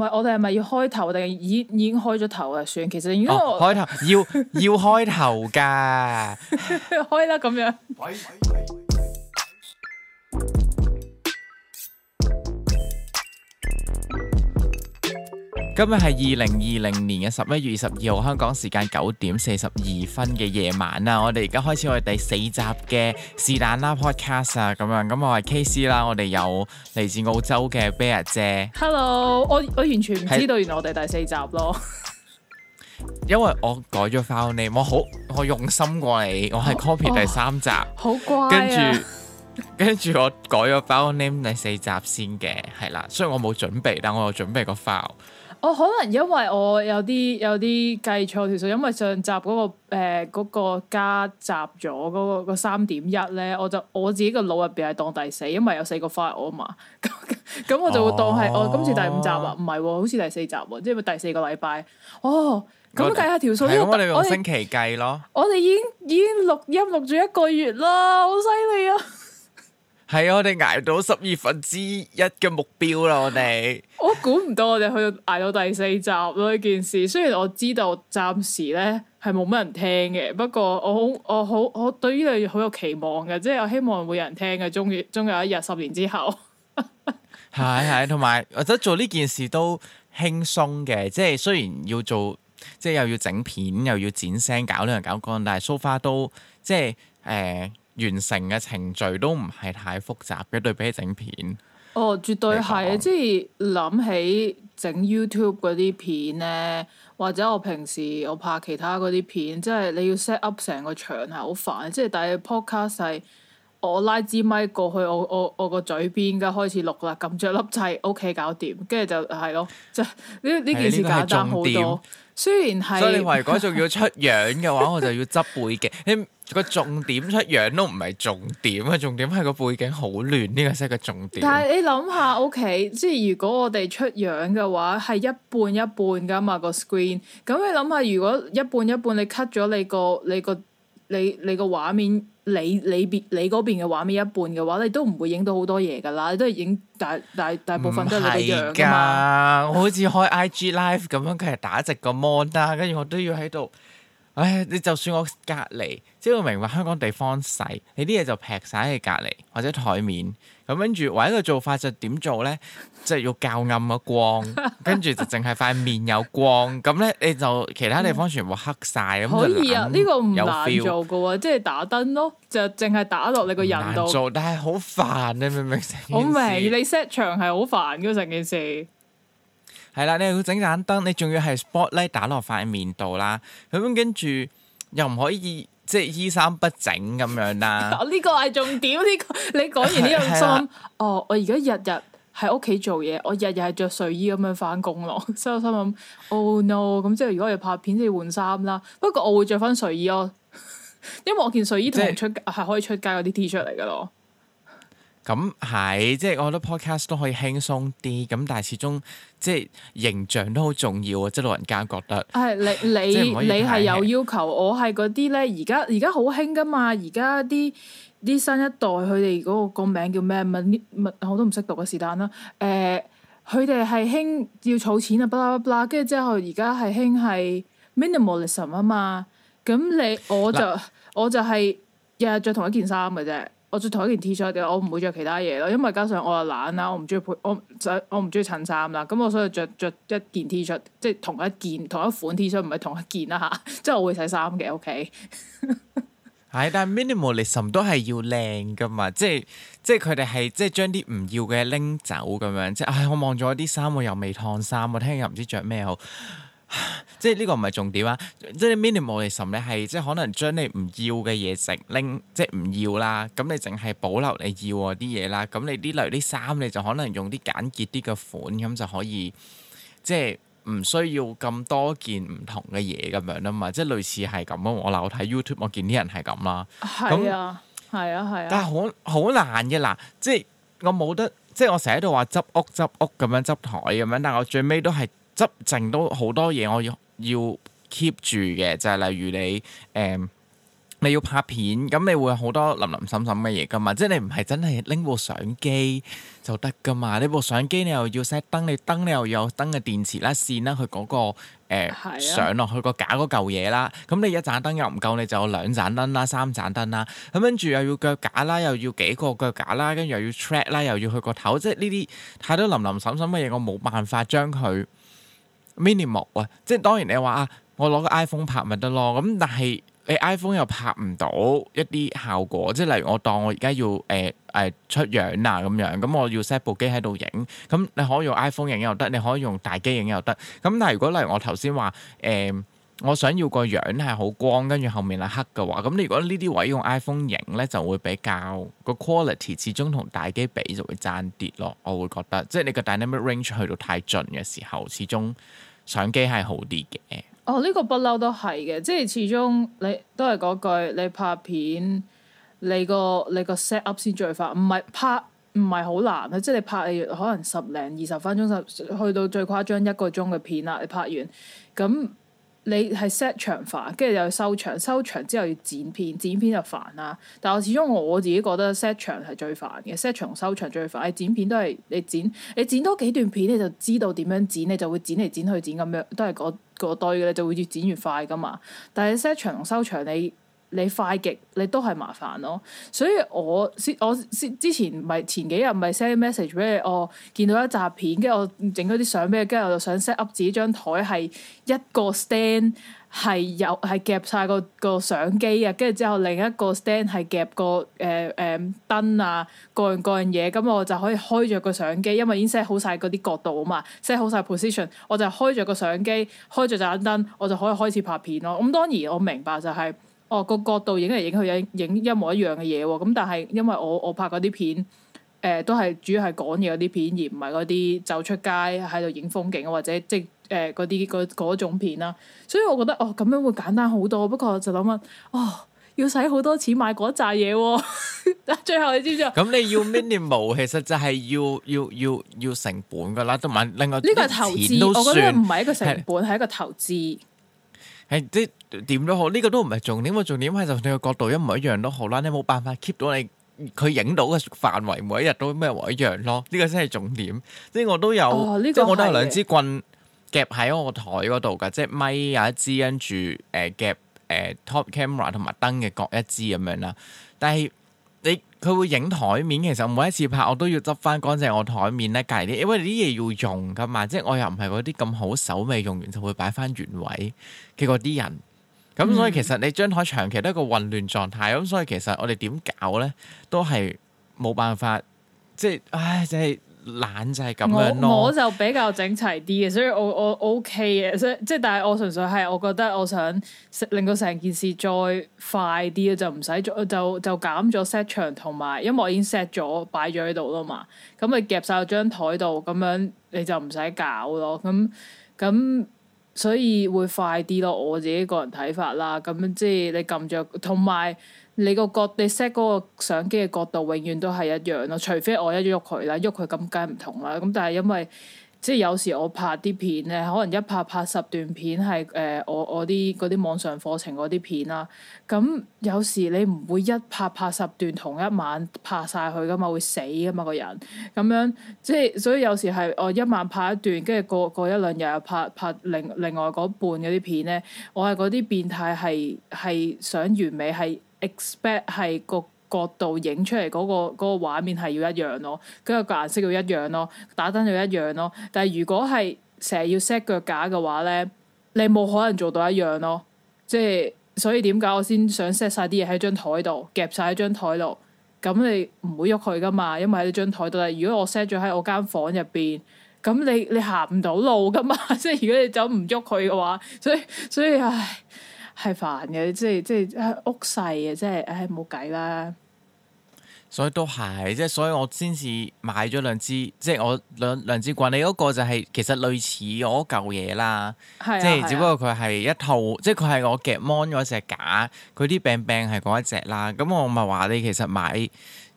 係我哋係咪要開頭定係已經開咗頭啊？算，其實應該開頭要開頭㗎， 開啦咁樣。 今日係2020年嘅11月22號，香港時間9點42分嘅夜晚啦。我哋而家開始我哋第4集嘅是但啦 podcast 啊，咁樣咁我係 KC 啦，我哋有嚟自澳洲嘅 Bear 姐。 Hello，我完全唔知道原來我哋第4集咯。 因為我改咗 file name，我用心過你，我係 copy 第3集， 好乖啊。 跟住我改咗 file name 第4集先嘅，係啦，雖然我冇準備，但我有準備個 file。 可能因為我有啲計錯條數，因為上集嗰個加雜咗嗰個3.1咧，我自己個腦入邊係當第4，因為有4個 file 啊嘛，咁我就會當係今次第5集啊，唔係喎，好似第4集喎，即係第4個禮拜。咁計下條數， 咁我哋用星期計咯。 我哋已經錄音錄咗1個月啦，好犀利啊！ 係啊，我哋捱到1/12嘅目標啦，我哋。我估唔到我哋去到捱到第4集咯呢件事。雖然我知道暫時咧係冇乜人聽嘅，不過我對於你好有期望嘅，即係我希望會有人聽嘅。終有一日10年之後。 係，同埋我覺得做呢件事都輕鬆嘅，即係雖然要做，即係又要整片，又要剪聲，搞呢樣搞嗰樣，但係 so far 都即係完成嘅程序都唔係太複雜嘅，對比起整片。絕對係，即係諗起整 YouTube 嗰啲片咧，或者我平時我拍其他嗰啲片，即係你要 set up 成個場係好煩。即係但係 podcast 係我拉支咪過去我個嘴邊，而家開始錄啦，撳著粒掣 OK 搞掂，跟住就係咯，即係呢件事簡單好多。雖然係， 所以你話如果仲要出樣嘅話，我就要執背景。你個重點出樣都唔係重點啊，重點係個背景好亂，呢個先係個重點。 但係你諗下 OK，即係如果我哋出樣嘅話，係一半一半噶嘛個 screen。咁你諗下，如果一半一半，你 cut 咗你個畫面，你嗰邊嘅畫面一半嘅話，你都唔會影到好多嘢噶啦，你都係影大部分都係你個樣噶嘛。 我好似開 IG live 咁樣，佢係打直個 mon 啦，跟住我都要喺度。唉，你就算我隔離，即係我明白香港地方細，你啲嘢就劈晒喺隔離或者台面，咁跟住唯一個做法就點做咧？即係要較暗個光，跟住就淨係塊面有光，咁咧你就其他地方全部黑晒。咁可以啊，呢個唔難 feel 做噶喎，即係打燈咯，就淨係打落你個人度。 難做，但係好煩，你明唔明成件事？ 我明，你 set 場係好煩嘅成件事。 係啦，你又要整盞燈，你仲要係 spotlight 打落塊面度啦，咁跟住又唔可以即係衣衫不整咁樣啦。 呢個係重點，你講完呢樣心，我而家日日喺屋企做嘢，我日日係着睡衣咁樣翻工咯。所以我心諗，Oh no！ 咁即係如果我要拍片，就要換衫啦。不過我會着翻睡衣咯，因為我件睡衣同係可以出街嗰啲 T 恤嚟噶咯。 咁係，即係我覺得 podcast 都可以輕鬆啲，咁但係始終即係形象都好重要啊！即係老人家覺得係你係有要求，我係嗰啲咧，而家好興噶嘛，而家啲新一代佢哋嗰個名叫咩？我都唔識讀嘅是但啦。佢哋係興要儲錢啊，巴拉巴拉，跟住之後而家係興係 minimalism 啊嘛。咁我就係日日着同一件衫嘅啫。我着同一件 T 恤嘅，我唔會着其他嘢咯，因為加上我又懶啦，我唔中意我唔中意襯衫啦，咁我所以着一件 T 恤，即係同一款 T 恤，唔係同一件啦嚇，即係我會洗衫嘅 OK。 係，但係 minimalism 都係要靚噶嘛，即係佢哋係即係將啲唔要嘅拎走咁樣，即係我望咗啲衫，我又未燙衫，我聽日又唔知着咩好。即係呢個唔係重點啊！即係 minimalism 咧係即係可能將你唔要嘅嘢食拎，即係唔要啦。咁你淨係保留你要啲嘢啦。咁你啲例如啲衫，你就可能用啲簡潔啲嘅款，咁就可以即係唔需要咁多件唔同嘅嘢咁樣啊嘛。即係類似係咁啊！我睇 YouTube 我見啲人係咁啦。 係啊，係啊。 但係好難嘅嗱，即係我冇得，即係我成日喺度話執屋咁樣執台咁樣，但係我最尾都係。執剩都好多嘢，我要 keep 住嘅，就係例如你你要拍片，咁你會有好多林林沈沈嘅嘢噶嘛，即係你唔係真係拎部相機就得噶嘛，你部相機你又要 set 燈，你燈你又要有燈嘅電池啦、線啦，佢嗰個上落去個架嗰嚿嘢啦，咁你一盞燈又唔夠，你就有2盞燈啦、3盞燈啦，咁跟住又要腳架啦，又要幾個腳架啦，跟住又要 track 啦，又要去個頭，即係呢啲太多林林沈沈嘅嘢，我冇辦法將佢 minimal 啊，即係當然你話啊，我攞個 iPhone 拍咪得咯，咁但係你 iPhone 又拍唔到一啲效果，即係例如我當我而家要出樣啊咁樣，咁我要 set 部機喺度影，咁你可以用 iPhone 影又得，你可以用大機影又得，咁但係如果例如我頭先話我想要個樣係好光，跟住後面係黑嘅話，咁你如果呢啲位用 iPhone 影咧，就會比較個 quality 始終同大機比就會爭啲咯，我會覺得，即係你個 dynamic range 去到太盡嘅時候，始終相機係好啲嘅。 哦，呢個不嬲都係嘅，即係始終你都係嗰句，你拍片你個 set up 先最快，唔係好難啊！即係你拍你可能10零20分鐘，去到最誇張1個鐘嘅片啦，你拍完咁你係 set 長化，跟住又要收長之後要剪片就煩啦。但係始終我自己覺得 set 長係最煩嘅，set 長收長最煩。你剪片都係你剪多幾段片，你就知道點樣剪，你就會剪嚟剪去剪咁樣，都係嗰堆嘅，你就會越剪越快噶嘛。但係 set 長同收長你快極你都係麻煩咯，所以我之前前幾日咪 send message 俾你，我見到一集片，跟住我整咗啲相俾你，跟住我就想 set up 自己張台係一個 stand 係夾晒個相機啊，跟住之後另一個 stand 係夾個燈啊，各樣嘢，咁我就可以開着個相機，因為已經 set 好晒嗰啲角度啊嘛，set 好晒 position， 我就開着個相機，開着盞燈，我就可以開始拍片咯。咁當然我明白就係個角度影嚟影去影一模一樣嘅嘢喎，咁但係因為我拍嗰啲片都係主要係講嘢嗰啲片，而唔係嗰啲走出街喺度影風景或者即係嗰種片啦，所以我覺得咁樣會簡單好多。不過就諗要使好多錢買嗰扎嘢喎，但最後你知唔知啊？ 咁你要 minimal 其實就係要成本噶啦，同埋另外呢個係投資，我覺得唔係一個成本，係一個投資。 係即點都好，呢個都唔係重點，個重點係就你個角度一模一樣都好啦，你冇辦法 keep 到佢影到嘅範圍每一日都一模一樣咯，呢個先係重點。即係我都有，即係我都有2支棍夾喺我個台嗰度㗎，即係咪有一支跟住夾top camera 同埋燈嘅各一支咁樣啦。但係佢會影台面，其實每一次拍我都要執翻乾淨我台面咧，隔離啲，因為啲嘢要用噶嘛，即係我又唔係嗰啲咁好手尾用完就會擺翻原位嘅嗰啲人，咁所以其實你張台長期都係一個混亂狀態，咁所以其實我哋點搞咧都係冇辦法，即係即係懶就係咁樣咯。 我就比較整齊啲嘅，所以我 OK 嘅，所以即係但係我純粹係我覺得我想令到成件事再快啲，就唔使就減咗 set 場同埋，因為我已經 set 咗擺咗喺度啦嘛，咁你夾晒張台度，咁樣你就唔使搞咯，咁所以會快啲咯，我自己個人睇法啦。咁即係你撳着，同埋你你 set 嗰個相機嘅角度永遠都係一樣咯，除非我一喐佢啦，喐佢咁梗係唔同啦。咁但係因為即係有時我拍啲片咧，可能一拍10段片係我啲嗰啲網上課程嗰啲片啦。咁有時你唔會一拍10段同一晚拍晒佢噶嘛，會死噶嘛個人。咁樣即係所以有時係我一晚拍一段，跟住過一兩日又拍另外嗰半嗰啲片咧，我係嗰啲變態係想完美，係 expect 係個角度影出嚟嗰個畫面係要一樣咯，跟住個顏色要一樣咯，打燈要一樣咯。但係如果係成日要 set 腳架嘅話咧，你冇可能做到一樣咯。即係所以點解我先想 set 晒啲嘢喺張台度，夾晒喺張台度，咁你唔會喐佢噶嘛，因為喺你張台度。但係如果我 set 咗喺我間房入邊，咁你行唔到路噶嘛。即係如果你走唔喐佢嘅話，所以唉係煩嘅，即係屋細嘅，即係唉冇計啦。 所以都係，即係所以我先至買咗2支，即係我兩支棍。你嗰個就係其實類似我嗰嚿嘢啦，即係只不過佢係一套，即係佢係我夾 mon 嗰隻架，佢啲柄係嗰一隻啦。咁我咪話你其實買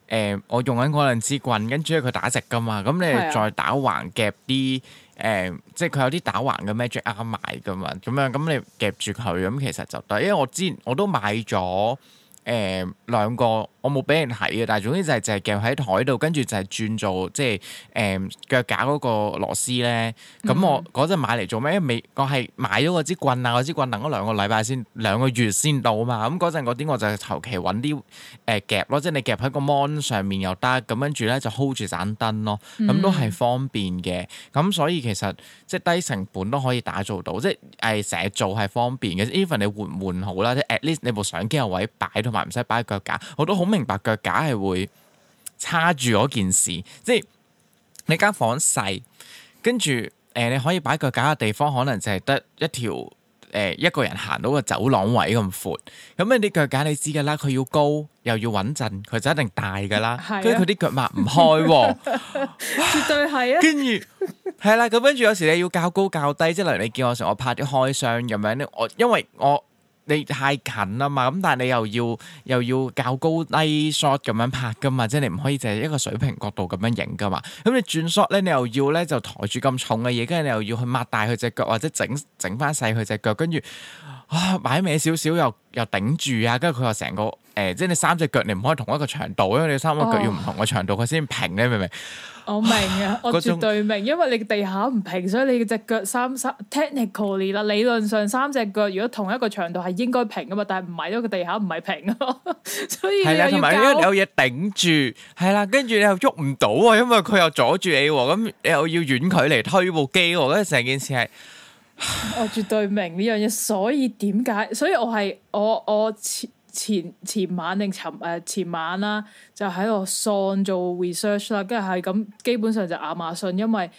我用緊嗰兩支棍，跟住佢打直噶嘛，咁你再打橫夾啲即係佢有啲打橫嘅 Magic Arm 賣噶嘛，咁樣咁你夾住佢咁其實就得，因為我之前我都買咗。兩個我冇俾人睇嘅，但係總之就係夾喺台度，跟住就係轉做即係腳架嗰個螺絲咧。咁我嗰陣買嚟做咩？因為我係買咗嗰支棍啊，嗰支棍等咗兩個月先到啊嘛。咁嗰陣嗰啲我就求其揾啲夾咯，即係你夾喺個 mon 上面又得，咁跟住咧就 hold 住盞燈咯，咁都係方便嘅。咁所以其實即係低成本都可以打造到，即係成日做係方便嘅。even 你換唔換好啦，即係 at least 你部相機有位擺同埋唔使擺腳架，我都好明白腳架係會叉住嗰件事，即係你間房細，跟住你可以擺腳架嘅地方可能就係得一條一個人行到個走廊位咁闊，咁你啲腳架你知㗎啦，佢要高又要穩陣，佢就一定大㗎啦，跟住佢啲腳擘唔開喎， 絕對係啊， 跟住係啦，咁跟住有時你要較高較低，即係例如你見我成日我拍啲開箱咁樣咧，因為你太近啦嘛，咁但係你又要較高低 shot 咁樣拍噶嘛，即係你唔可以淨係一個水平角度咁樣影噶嘛。咁你轉 shot 咧，你又要咧就抬住咁重嘅嘢，跟住你又要去擘大佢隻腳，或者整翻細佢隻腳，跟住擺歪少少又頂住啊，跟住佢又成個即係你三隻腳你唔可以同一個長度，因為你三個腳要唔同嘅長度佢先平，你明唔明？我明啊，我絕對明，因為你地下唔平，所以你隻腳technically 啦，理論上三隻腳如果同一個長度係應該平噶嘛，但係唔係，因為個地下唔係平咯，所以你又要同埋因為有嘢頂住，係啦，跟住你又喐唔到啊，因為佢又阻住你喎，咁你又要遠距離推部機喎，跟住成件事係， 我絕對明呢樣嘢，所以點解？所以我前晚定前晚啦，就喺度喪做 research 啦，跟住係咁，基本上就亞馬遜，因為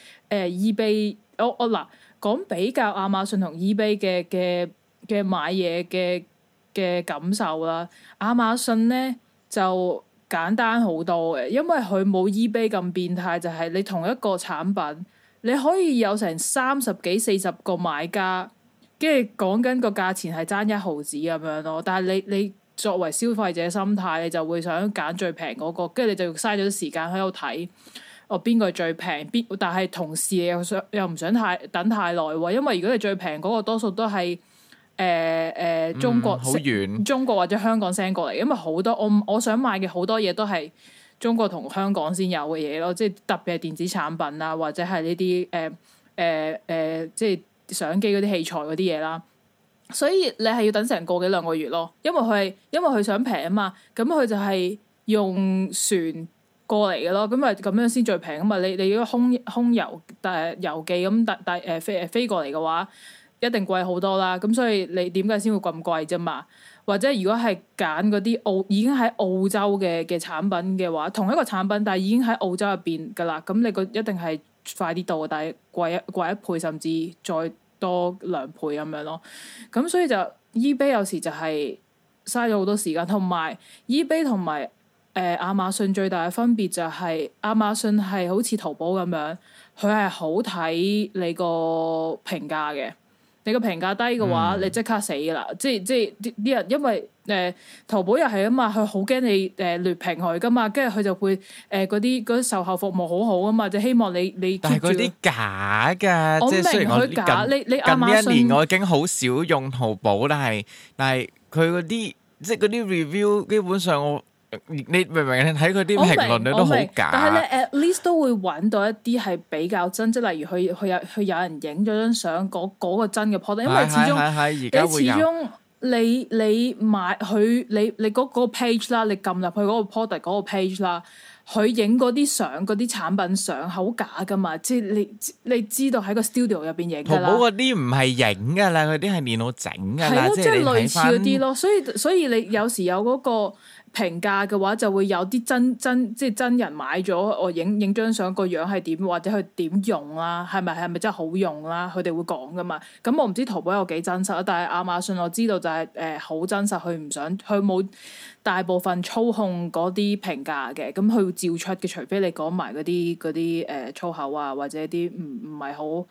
eBay 我嗱講比較亞馬遜同 eBay 嘅買嘢嘅感受啦，亞馬遜咧就簡單好多嘅，因為佢冇 eBay 咁變態，就係你同一個產品你可以有成30幾40個買家，跟住講緊個價錢係爭1毫子咁樣咯，但係你作為消費者心態，你就會想揀最平嗰個，跟住你就嘥咗啲時間喺度睇，邊個最平？但係同時你又唔想等太耐喎，因為如果你最平嗰個多數都係中國好遠， 中國或者香港 send 過嚟，因為好多我想買嘅好多嘢都係中國同香港先有嘅嘢咯，即係特別係電子產品啊，或者係呢啲即係相機嗰啲器材嗰啲嘢啦。所以你係要等成個幾兩個月咯，因為佢想平啊嘛，咁佢就係用船過嚟嘅咯，咁咁樣先最平啊嘛。你如果空郵郵寄咁飛過嚟嘅話，一定貴好多啦。咁所以你點解先會咁貴啫嘛？或者如果係揀嗰啲已經喺澳洲嘅產品嘅話，同一個產品但係已經喺澳洲入邊噶啦，咁你一定係快啲到，但係貴一倍甚至再多2倍咁樣咯，咁所以就 eBay 有時就係嘥咗好多時間，同埋 eBay 同埋亞馬遜最大嘅分別就係亞馬遜係好似淘寶咁樣，佢係好睇你個評價嘅，你個評價低嘅話，你即刻死噶啦，即係啲人因為淘寶又係啊嘛，佢好驚你劣評佢噶嘛，跟住佢就會嗰啲售後服務好好啊嘛，就希望你但係嗰啲假㗎，即係雖然我假，你近呢一年我已經好少用淘寶，但係佢嗰啲即係嗰啲 review 基本上你明唔明？你睇佢啲評論你都好假， 但係你 at least 都會揾到一啲係比較真，即係例如佢有人影咗張相嗰個真嘅 product，因為始終你買佢你嗰個 page 啦，你撳入去嗰個 product 嗰個 page 啦，佢影嗰啲相嗰啲產品相好假噶嘛，即係你知道喺個 studio 入邊影噶啦。 淘寶嗰啲唔係影噶啦，嗰啲係電腦整噶啦，即係類似嗰啲咯。所以你有時有嗰個評價嘅話，就會有啲即係真人買咗，我影張相個樣係點，或者佢點用啦，係咪真係好用啦？佢哋會講噶嘛。咁我唔知淘寶有幾真實，但係亞馬遜我知道就係好真實，佢冇大部分操控嗰啲評價嘅，咁佢會照出嘅，除非你講埋嗰啲粗口啊，或者啲唔係好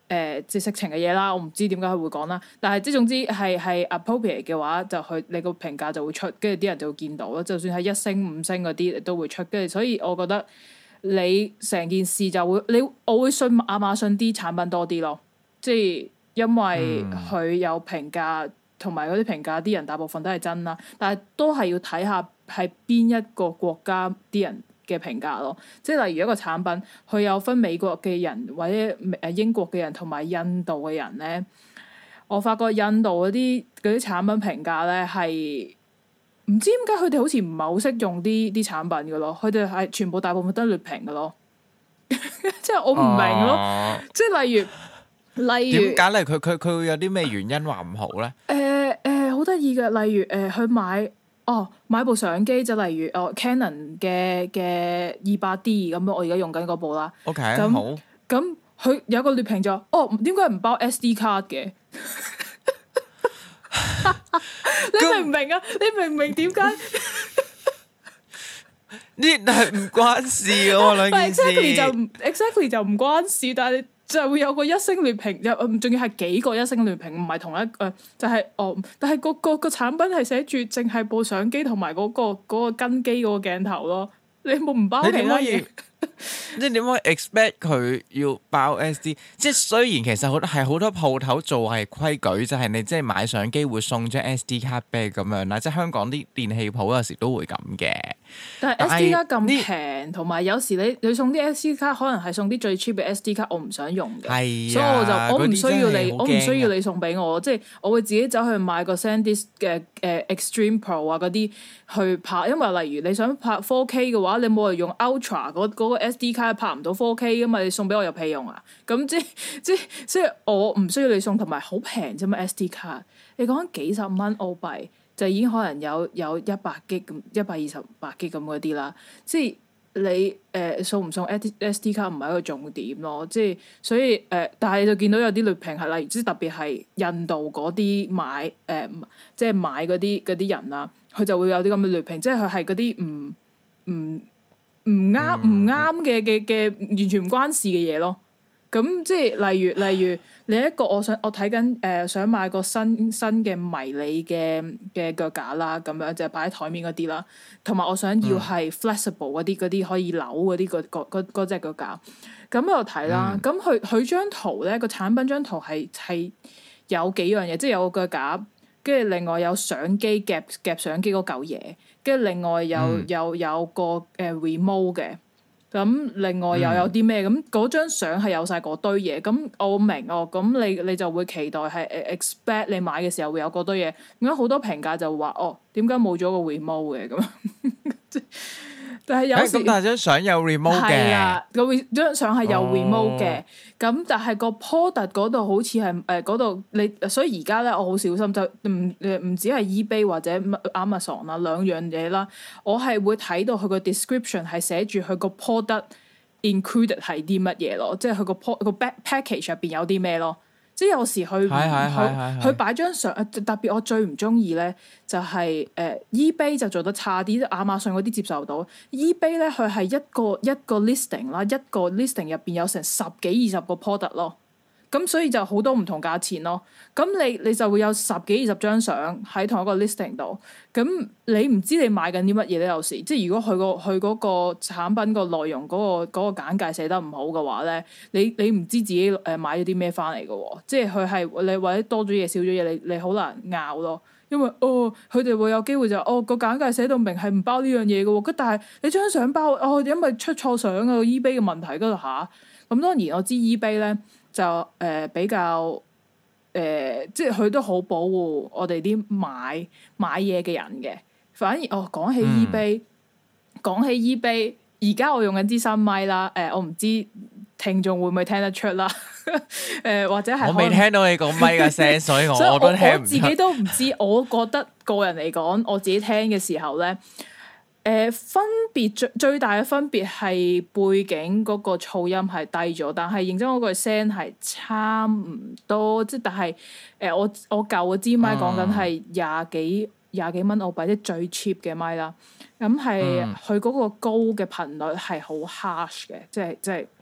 即係色情嘅嘢啦，我唔知點解佢會講啦。但係即係總之係 appropriate 嘅話，就你個評價就會出，跟住啲人就會見到咯。就算係1星5星嗰啲都會出，跟住所以我覺得你成件事就會我會信亞馬遜啲產品多啲咯，即係因為佢有評價，同埋嗰啲評價啲人大部分都係真啦，但係都係要睇下係邊一個國家啲人嘅評價咯，即係例如一個產品，佢有分美國嘅人或者英國嘅人同埋印度嘅人咧。我發覺印度嗰啲產品評價咧係唔知點解佢哋好似唔係好識用啲產品嘅咯，佢哋係全部大部分都係劣評嘅咯，即係我唔明咯，即係例如點解咧？佢會有啲咩原因話唔好咧？ 好得意嘅，例如去買部相機，就例如Canon 嘅200D 咁樣，我而家用緊嗰部啦。 OK， 咁好。 咁佢有個劣評就點解唔包 SD 卡嘅？你明唔明啊？你明唔明點解？ 呢係唔關事喎，兩件事。 exactly 就唔關事，但係就會有個1星劣評，仲要係幾個1星劣評，唔係同一就係但係個產品係寫住淨係部相機同埋嗰個跟機嗰個鏡頭咯，你冇唔包其他嘢？ 你點可以 expect 佢要包 SD？ 即係雖然其實好多鋪頭做係規矩，就係你即係買相機會送張 SD 卡俾你咁樣啦。即係香港啲電器鋪有時都會咁嘅。 但係 SD 卡咁平，同埋有時你送啲 SD 卡，可能係送啲最 cheap 嘅 SD 卡，我唔想用嘅。 係啊，所以我唔需要你送俾我，即係我會自己走去買個 SanDisk 嘅Extreme Pro 啊嗰啲去拍。因為例如你想拍 4K 嘅話，你冇人用 Ultra 嗰個 SD 卡拍唔到 4K 噶嘛，你送俾我有屁用啊？咁即係我唔需要你送，同埋好平啫嘛 SD 卡。你講緊幾十蚊澳幣就已經可能有100G 咁128G 咁嗰啲啦。即係你送唔送 SD 卡唔係一個重點咯。即係所以但係就見到有啲劣評係例如即係特別係印度嗰啲買即係買嗰啲人啊，佢就會有啲咁嘅劣評，即係佢係嗰啲唔啱嘅完全唔關事嘅嘢咯。咁即係例如另一個我睇緊想買個新嘅迷你嘅腳架啦，咁樣就係擺喺台面嗰啲啦，同埋我想要係 flexible 嗰啲可以扭嗰啲嗰隻腳架。咁我睇啦，咁佢張圖咧個產品張圖係有幾樣嘢，即係有個腳架，跟住另外有相機夾相機嗰嚿嘢，跟住另外有個remote 嘅。咁另外又有啲咩？咁嗰張相係有晒嗰堆嘢。咁我明咁你就會期待係expect 你買嘅時候會有嗰堆嘢。點解好多評價就話點解冇咗個 remote 嘅咁？但係有時但係張相有 remote 嘅， 係啊，張相係有 remote 嘅。咁但係個 product 嗰度好似係嗰度你，所以而家咧我好小心，就唔止係 eBay 或者 Amazon 啦，兩樣嘢啦，我係會睇到佢個 description 係寫住佢個 product included 係啲乜嘢咯，即係佢個 package 入邊有啲咩咯。即係有時佢擺張相，特別我最唔中意咧就係eBay 就做得差啲，亞馬遜嗰啲接受到。eBay 咧佢係一個 listing 啦，一個 listing 入邊有成10幾20個 product 咯。咁所以就好多唔同價錢咯。咁你就會有10幾20張相喺同一個 listing 度。咁你唔知你買緊啲乜嘢咧？有時即係如果佢嗰個產品個內容嗰個簡介寫得唔好嘅話咧，你唔知自己買咗啲咩翻嚟嘅喎。即係佢係你或者多咗嘢少咗嘢，你好難拗咯。因為佢哋會有機會就個簡介寫到明係唔包呢樣嘢嘅喎。但係你張相包因為出錯相啊 eBay 嘅問題嗰度下。咁當然我知 eBay 咧。就比較即係佢都好保護我哋啲買嘢嘅人嘅。反而講起 eBay，而家我用緊支新咪啦。我唔知聽眾會唔會聽得出啦。或者係我未聽到你講咪嘅聲，所以我都聽唔出。 我自己都唔知。我覺得個人嚟講，我自己聽嘅時候咧。分別最大嘅分別係背景嗰個噪音係低咗，但係認真嗰個聲係差唔多，即係但係我舊嘅支咪講緊係廿幾蚊澳幣，即係最 cheap 嘅咪啦。咁係佢嗰個高嘅頻率係好 harsh 嘅，即係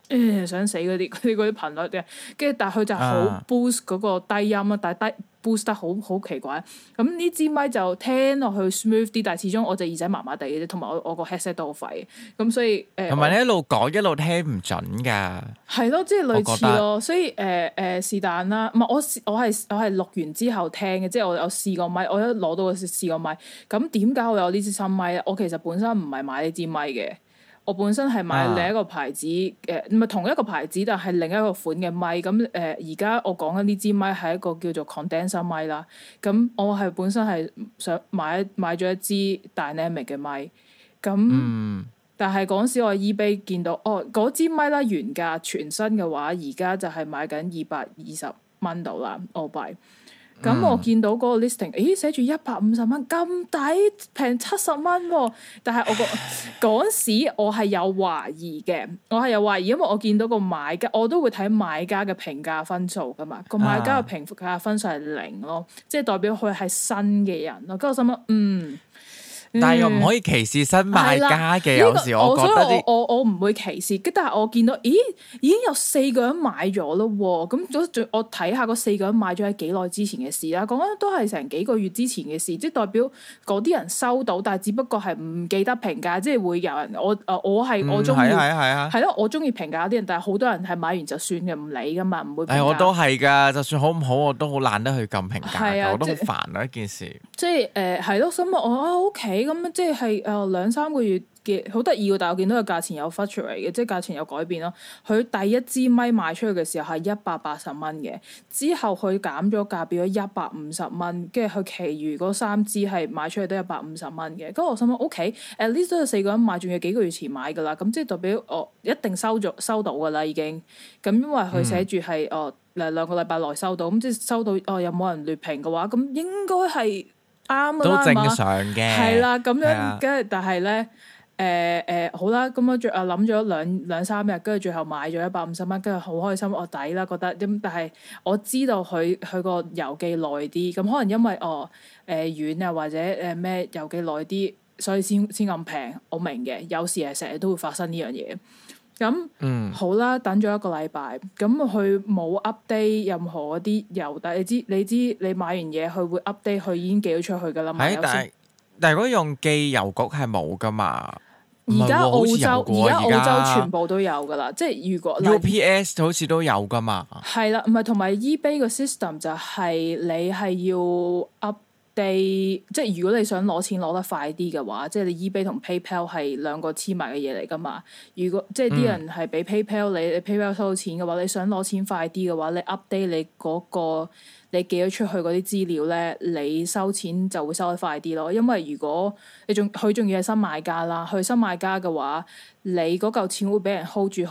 想死嗰啲頻率嘅，跟住但係佢就好 boost 嗰個低音啊，但係boost 得好奇怪。咁呢支咪就聽落去 smooth 啲，但係始終我隻耳仔麻麻地嘅啫，同埋我個 headset 都好廢，咁所以同埋你一路講一路聽唔準㗎。係咯，即係類似咯，所以是但啦。唔係我係錄完之後聽嘅，即係我有試過咪，我一攞到試過咪。咁點解我有呢支新咪咧？我其實本身唔係買呢支咪嘅。我本身係買另一個牌子唔係同一個牌子，但係另一個款嘅咪。咁而家我講緊呢支咪係一個叫做 condenser 咪啦。咁我係本身係想買咗一支 dynamic 嘅咪。咁但係嗰陣時我 eBay 見到嗰支咪啦，原價全新嘅話，而家就係買緊$220度啦，澳幣。咁我見到嗰個 listing， 咦寫住$150咁抵，平70蚊喎。但係嗰時我係有懷疑嘅，因為我見到個買家，我都會睇買家嘅評價分數噶嘛。個買家嘅評價分數係0咯，即係代表佢係新嘅人咯。跟住我心諗但係又唔可以歧視新買家嘅，有時我覺得我唔會歧視，但係我見到，已經有4個人買咗咯喎，咁我睇下嗰4個人買咗喺幾耐之前嘅事啦，講緊都係成幾個月之前嘅事，即係代表嗰啲人收到，但係只不過係唔記得評價，即係會有人我中意係咯，我中意評價啲人，但係好多人係買完就算嘅，唔理噶嘛，唔會評價。 我都係㗎，就算好唔好我都好懶得去撳評價，我都好煩啊一件事。即係係咯，所以我OK。咁即係2-3個月嘅好得意喎，但係我見到個價錢有 fluctuate 嘅，即係價錢有改變咯。佢第一支咪賣出去嘅時候係180蚊嘅，之後佢減咗價變咗150蚊，跟住佢其餘嗰3支係賣出去都150蚊嘅。咁我心諗 OK，at least 都有4個人買，仲要幾個月前買㗎啦。咁即係代表我一定收到㗎啦已經。咁因為佢寫住係2個禮拜內收到，咁即係收到有冇人劣評嘅話，咁應該係啱㗎啦， 都正常嘅。 係啦，咁樣跟住，但係咧。好啦，咁我諗咗2-3日，跟住最後買咗150蚊，跟住好開心，我抵啦覺得。咁但係我知道佢個郵寄耐啲，咁可能因為遠啊或者咩郵寄耐啲，所以先咁平。我明嘅，有時係成日都會發生呢樣嘢。咁好啦，等咗1個禮拜，咁佢冇 update 任何嗰啲郵遞。你知你買完嘢佢會 update，佢已經寄咗出去㗎啦嘛。 但係如果用寄郵局係冇㗎嘛？ 而家澳洲全部都有㗎啦，即係如果 UPS 好似都有㗎嘛。係啦，唔係同埋 eBay 個 system 就係你係要 update，即係如果你想攞錢攞得快啲嘅話，即係你 eBay 同 PayPal 係兩個黐埋嘅嘢嚟㗎嘛。如果即係啲人係俾 PayPal 你 PayPal 收到錢嘅話，你想攞錢快啲嘅話，你 update 你嗰個。你寄咗出去嗰啲資料咧，你收錢就會收得快啲咯。因為如果佢仲要係新買家啦，佢新買家嘅話，你嗰嚿錢會俾人 hold 足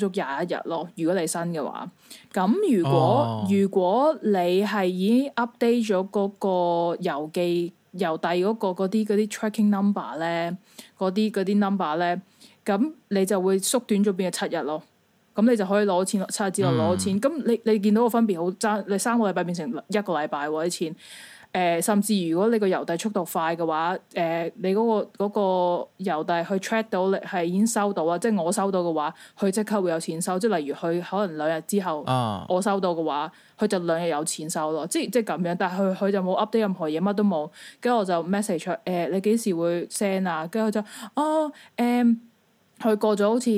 21日咯。如果你新嘅話，咁如果你係已經 update 咗嗰個郵遞嗰啲 tracking number 咧，嗰啲 number 咧，咁你就會縮短咗變咗7日咯。咁你就可以攞錢7日之後攞錢，咁你見到個分別好爭，你3個禮拜變成1個禮拜喎啲錢，甚至如果你個郵遞速度快嘅話，你嗰個郵遞去 track 到你係已經收到啊，即係我收到嘅話，佢即刻會有錢收，即係例如佢可能2日之後我收到嘅話，佢就2日有錢收咯，即係咁樣，但係佢就冇 update 任何嘢，乜都冇，跟住我就 message 你幾時會 send 啊？跟住佢就佢過咗好似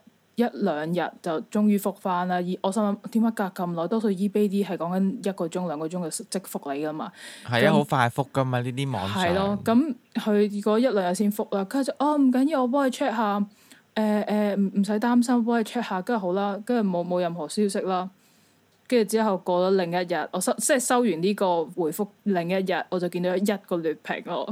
1-2日就終於覆返啦！我心諗點解隔咁耐？多數 eBay 啲係講緊1個鐘2個鐘就即覆你噶嘛。係啊， 好快覆噶嘛呢啲網上。係咯， 咁佢如果1-2日先覆啦，跟住就唔緊要，我幫你 check 下。唔使擔心，幫你 check 下，跟住好啦，跟住冇任何消息啦。跟住之後過咗另一日，我收完呢個回覆，另一日我就見到1個劣評咯。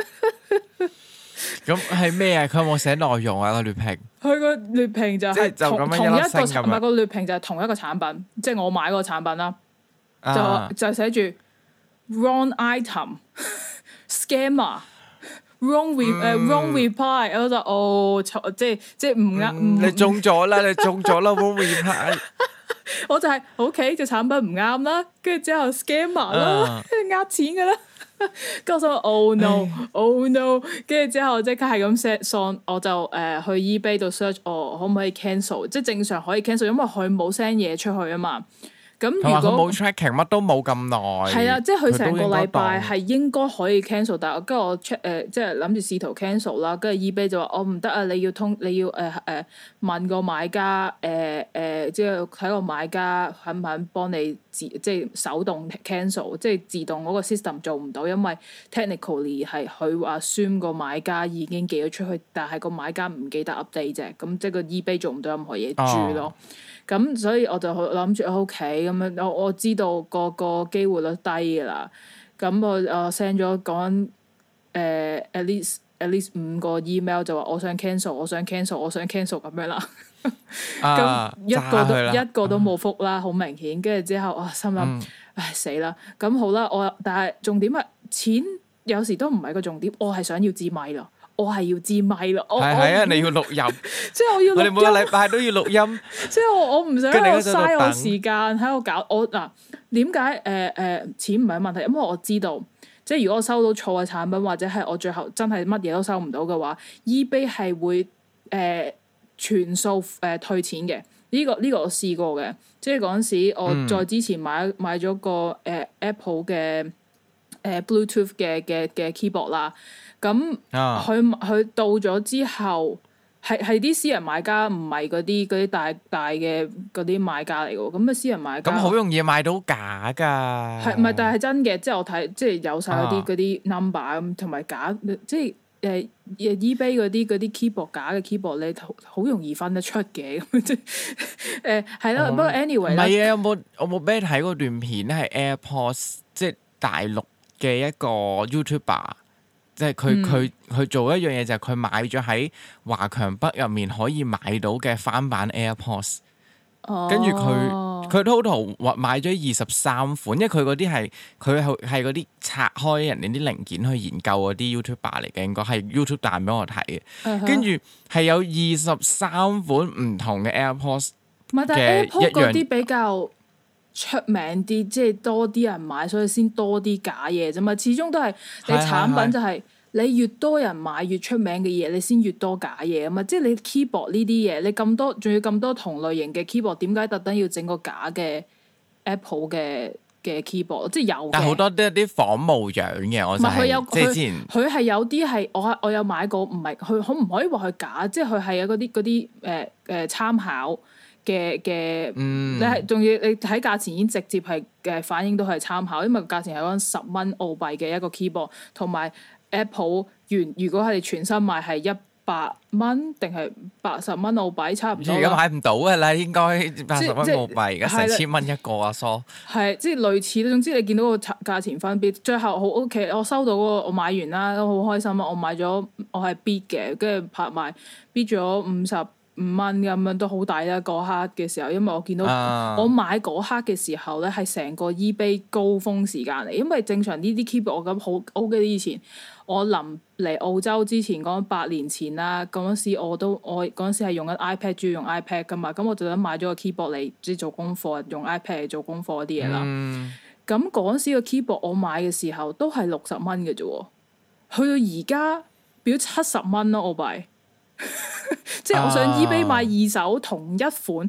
咁係咩啊？佢有冇寫內容啊？個劣評？ 佢個劣評就係同一個唔係個劣評就係同一個產品，即係我買嗰個產品啦，就寫住 wrong item scammer wrong reply，我就即係唔啱。 你中咗啦wrong reply。 我就係 OK，隻產品唔啱啦，跟住之後 scammer 啦，跟住呃錢噶啦。 跟住我想 oh no oh no， 跟住之後即刻係咁 set song， 我就去 eBay 度 search 我可唔可以 cancel， 即係正常可以 cancel， 因為佢冇 send 嘢出去啊嘛。咁如果佢冇 tracking 乜都冇咁耐， 係啊，即係佢成個禮拜係應該可以 cancel， 但係跟住我 check 即係諗住試圖 cancel 啦，跟住 eBay 就話我唔得啊，你要問個買家即係睇個買家肯唔肯幫你即係手動 cancel， 即係自動嗰個 system 做唔到，因為 technically 係佢話 assume 個買家已經寄咗出去，但係個買家唔記得 update 啫，咁即係個 eBay 做唔到任何嘢住咯。咁所以我就諗住 OK 咁樣，我知道個機會率低㗎啦。咁我 send 咗講at least 5個 email 就話我想 cancel 咁樣啦。咁一個都冇覆啦，好明顯。跟住之後我心諗唉死啦！咁好啦，但係重點係錢有時都唔係個重點，我係想要支咪咯。我係要支咪咯，係啊！ 你要錄音， 即係我要錄音。我哋每個禮拜都要錄音， 即係我唔想喺度嘥我時間喺度搞我嗱。點解錢唔係問題？因為我知道，即係如果我收到錯嘅產品，或者係我最後真係乜嘢都收唔到嘅話，eBay 係會全數退錢嘅。呢個我試過嘅，即係嗰陣時我再之前買咗個Apple 嘅Bluetooth 嘅 keyboard 啦。咁佢到咗之後，係啲私人買家，唔係嗰啲大嘅嗰啲買家嚟嘅喎。咁啊，私人買家咁好容易買到假㗎。 係唔係？但係真嘅，即係我睇，即係有晒嗰啲 number 咁，同埋假，即係eBay 嗰啲 keyboard 假嘅 keyboard 你好容易分得出嘅。咁即係係啦。不過 anyway 啦，唔係啊，我冇俾你睇嗰段片咧，係 AirPods 即係大陸嘅一個 YouTuber。即係佢做一樣嘢，就係佢買咗喺華強北入面可以買到嘅翻版 AirPods，跟住佢 total 買咗23款，因為佢嗰啲係嗰啲拆開人哋啲零件去研究嗰啲 YouTuber 嚟嘅，應該係 YouTube 彈俾我睇嘅，跟住係有23款唔同嘅 AirPods。 唔係，但係 AirPods 嗰啲比較出名啲，即係多啲人買，所以先多啲假嘢啫嘛。始終都係你產品就係你越多人買越出名嘅嘢，你先越多假嘢啊嘛。即係你 keyboard 呢啲嘢，你咁多仲要咁多同類型嘅 keyboard， 點解特登要整個假嘅 Apple 嘅 keyboard？ 即係有嘅，但好多都係啲仿模樣嘅。我就係即係之前佢係有啲係我有買過，唔係佢可唔可以話佢假？即係佢係有嗰啲參考嘅，你係仲要你睇價錢已經直接係反映到係參考，因為價錢係講10蚊澳幣嘅一個 keyboard， 同埋 Apple 如果係全新賣係100蚊定係80蚊澳幣差唔多。 而家買唔到㗎啦，應該80蚊澳幣，而家成1000蚊一個啊，疏係即係類似。總之你見到個價錢分別，最後好 OK， 我收到嗰個我買完啦，都好開心啊！我買咗我係 bid 嘅，跟住拍賣 bid 咗55蚊咁樣都好抵啦！嗰刻嘅時候，因為我見到我買嗰刻嘅時候咧，係成個 eBay 高峰時間嚟。因為正常呢啲 keyboard 我咁好 OK，以前我臨嚟澳洲之前講8年前啦，嗰陣時我嗰陣時係用緊 iPad， 主要用 iPad 噶嘛，咁我就咁買咗個 keyboard 嚟即係做功課，用 iPad 嚟做功課嗰啲嘢啦。咁嗰陣時個 keyboard 我買嘅時候都係60蚊嘅啫，去到而家變咗70蚊咯，澳幣。即係我上 eBay 買二手同一款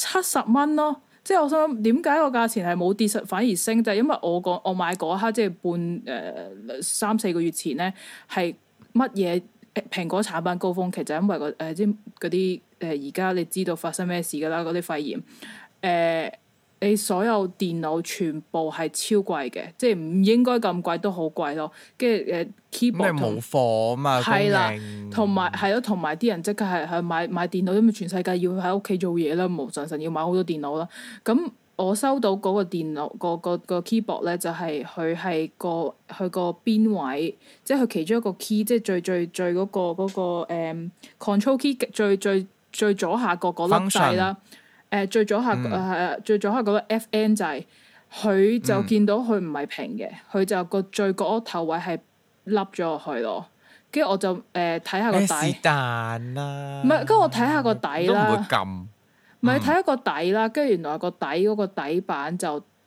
70蚊咯，即係我想諗點解個價錢係冇跌實反而升，就係因為我買嗰刻即係半3-4個月前咧，係乜嘢蘋果產品高峰期，就係因為即係嗰啲而家你知道發生咩事㗎啦，嗰啲肺炎你所有電腦全部係超貴嘅，即係唔應該咁貴都好貴咯。跟住keyboard 冇貨啊嘛， 係啦，同埋係咯，同埋啲人即刻係去買電腦，因為全世界要喺屋企做嘢啦，無神要買好多電腦啦。咁我收到嗰個電腦個 keyboard 咧，就係佢係佢個邊位，即係佢其中一個 key，即係最嗰個control key 最左下角嗰粒掣啦。最左下嗰個 FN 掣，佢就見到佢唔係平嘅，佢就個最角頭位係凹咗落去咯。跟住我就睇下個底。是但啦。唔係，跟住我睇下個底啦。都唔會撳。唔係睇下個底啦，跟住原來個底嗰個底板就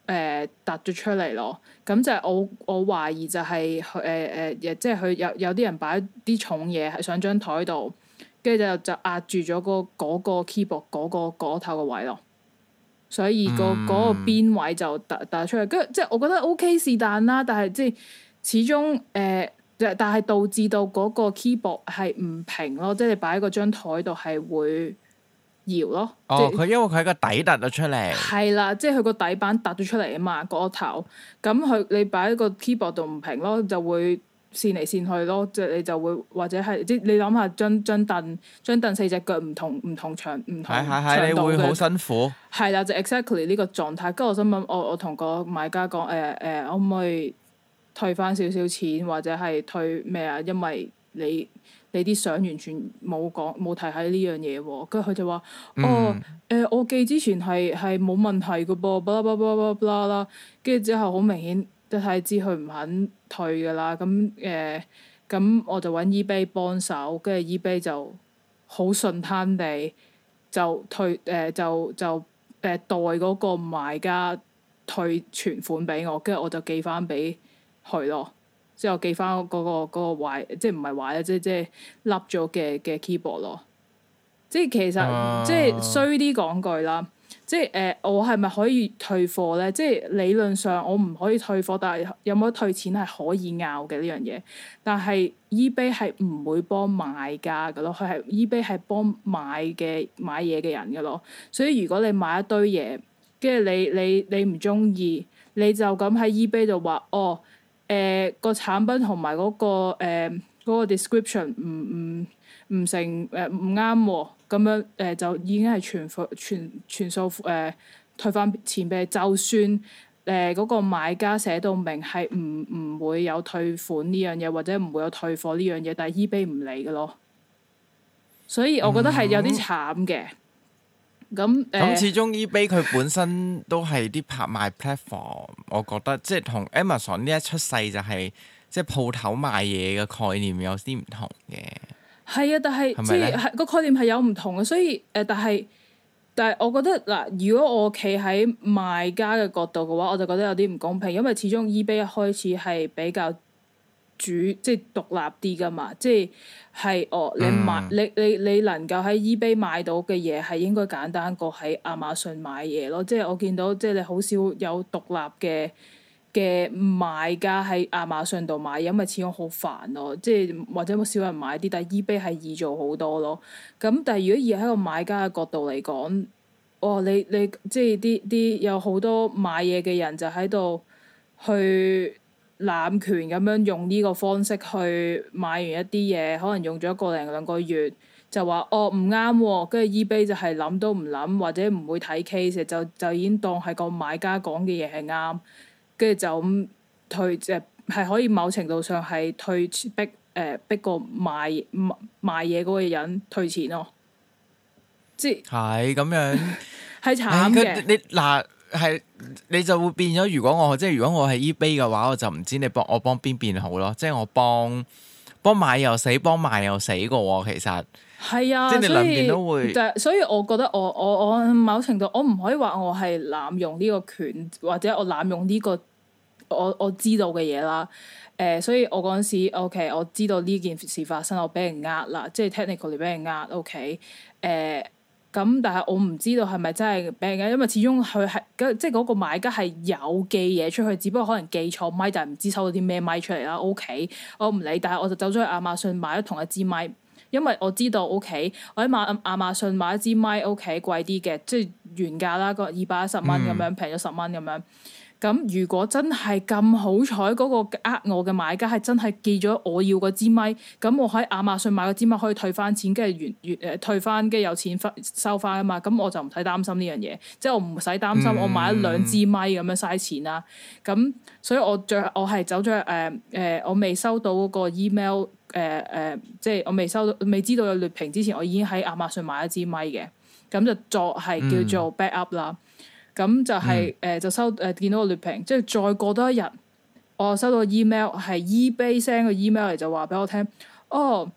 突咗出嚟咯。咁就係我懷疑就係即係佢有啲人擺啲重嘢喺上張台度，跟住就壓住咗嗰個 keyboard 嗰頭個位咯。所以嗰個邊位就突出嚟，跟住即係我覺得 OK 是但啦，但係即係始終但係導致到嗰個 keyboard 係唔平咯，即係你擺喺嗰張台度係會搖咯。 哦，佢因為佢個底突咗出嚟。係啦，即係佢個底板突咗出嚟啊嘛，嗰頭。咁你擺喺個 keyboard 度唔平咯，就會跣嚟跣去咯，即係你就會或者係即係你諗下張凳四隻腳唔同長唔同長度你會好辛苦。係啦，就 exactly 呢個狀態。跟住我心諗，我同個買家講可唔可以退翻少少錢，或者係退咩啊？因為你啲相完全冇提喺呢樣嘢喎。跟住佢就話：我寄之前係冇問題嘅噃，巴拉巴拉巴拉巴拉啦。跟住之後好明顯，一睇知佢唔肯退㗎啦。咁我就揾 eBay 幫手，跟住 eBay 就好順攤地就退就代嗰個買家退全款俾我，跟住我就寄翻俾佢咯。之後寄翻嗰個壞，即係唔係壞咧，即係凹咗嘅 keyboard 咯。即係其實即係衰啲講句啦，即係我係咪可以退貨咧？即係理論上我唔可以退貨，但係有冇得退錢係可以拗嘅呢樣嘢。但係 eBay 係唔會幫買家嘅咯，佢係 eBay 係幫買嘢嘅人嘅咯。所以如果你買一堆嘢，跟住你唔中意，你就咁喺 eBay 度話個產品同埋嗰個 description 唔成唔啱喎，咁樣就已經係全數退翻錢俾你。就算嗰個買家寫到明係唔會有退款呢樣嘢，或者唔會有退貨呢樣嘢，但係 eBay 唔理嘅咯。所以我覺得係有啲慘嘅。咁始終 eBay 佢本身都係啲拍賣 platform，我覺得即係同 Amazon 呢一出世就係即係鋪頭賣嘢嘅概念有啲唔同嘅。 係啊，但係即係個概念係有唔同嘅，所以但係我覺得嗱，如果我企喺賣家嘅角度嘅話，我就覺得有啲唔公平，因為始終 eBay 一開始係比較即係獨立啲噶嘛，即係你買你能夠喺 eBay 買到嘅嘢係應該簡單過喺亞馬遜買嘢咯。即係我見到即係你好少有獨立嘅賣家喺亞馬遜度買，因為始終好煩咯。即係或者好少人買啲，但係 eBay 係易做好多咯。咁但係如果以喺個買家嘅角度嚟講，你即係啲有好多買嘢嘅人就喺度去濫權咁樣用呢個方式去買完一啲嘢，可能用咗1零2個月就話唔啱喎，跟住 eBay 就係諗都唔諗，或者唔會睇 case， 就已經當係個買家講嘅嘢係啱，跟住就咁退，即係可以某程度上係逼個賣嘢嗰個人退錢咯，即係咁樣係慘嘅。 你就會變咗。如果我係 eBay 嘅話，我就唔知我幫邊邊好咯。即係我幫買又死，幫賣又死嘅喎。其實係啊， 即係你兩邊都會。 所以我覺得我某程度我唔可以話我係濫用呢個權，或者我濫用呢個我知道嘅嘢啦。所以我嗰陣時 OK， 我知道呢件事發生，我俾人呃啦，即係 technically 俾人呃 OK。咁但係我唔知道係咪真係俾人呃，因為始終佢係即係嗰個買家係有寄嘢出去，只不過可能寄錯咪，但係唔知收到啲咩咪出嚟啦。OK， 我唔理，但係我就走咗去亞馬遜買咗同一支咪，因為我知道 OK， 我喺亞馬遜買一支咪 OK 貴啲嘅，即係原價啦，個210蚊咁樣，平咗10蚊咁樣。咁如果真係咁好彩，嗰個我嘅買家係真係寄咗我要嗰支咪，咁我喺亞馬遜買嗰支咪可以退翻錢，跟住退翻，跟住有錢收翻啊嘛，咁我就唔使擔心呢樣嘢，即係我唔使擔心我買咗2支咪咁樣嘥錢啦。咁所以我係走咗我未收到嗰個 email 即係我未知道有劣評之前，我已經喺亞馬遜買一支咪嘅，咁就作係叫做 backup 啦。咁就係就見到個劣評，即係再過多一日，我收到個 email 係 eBay send 個 email 嚟，就話俾我聽，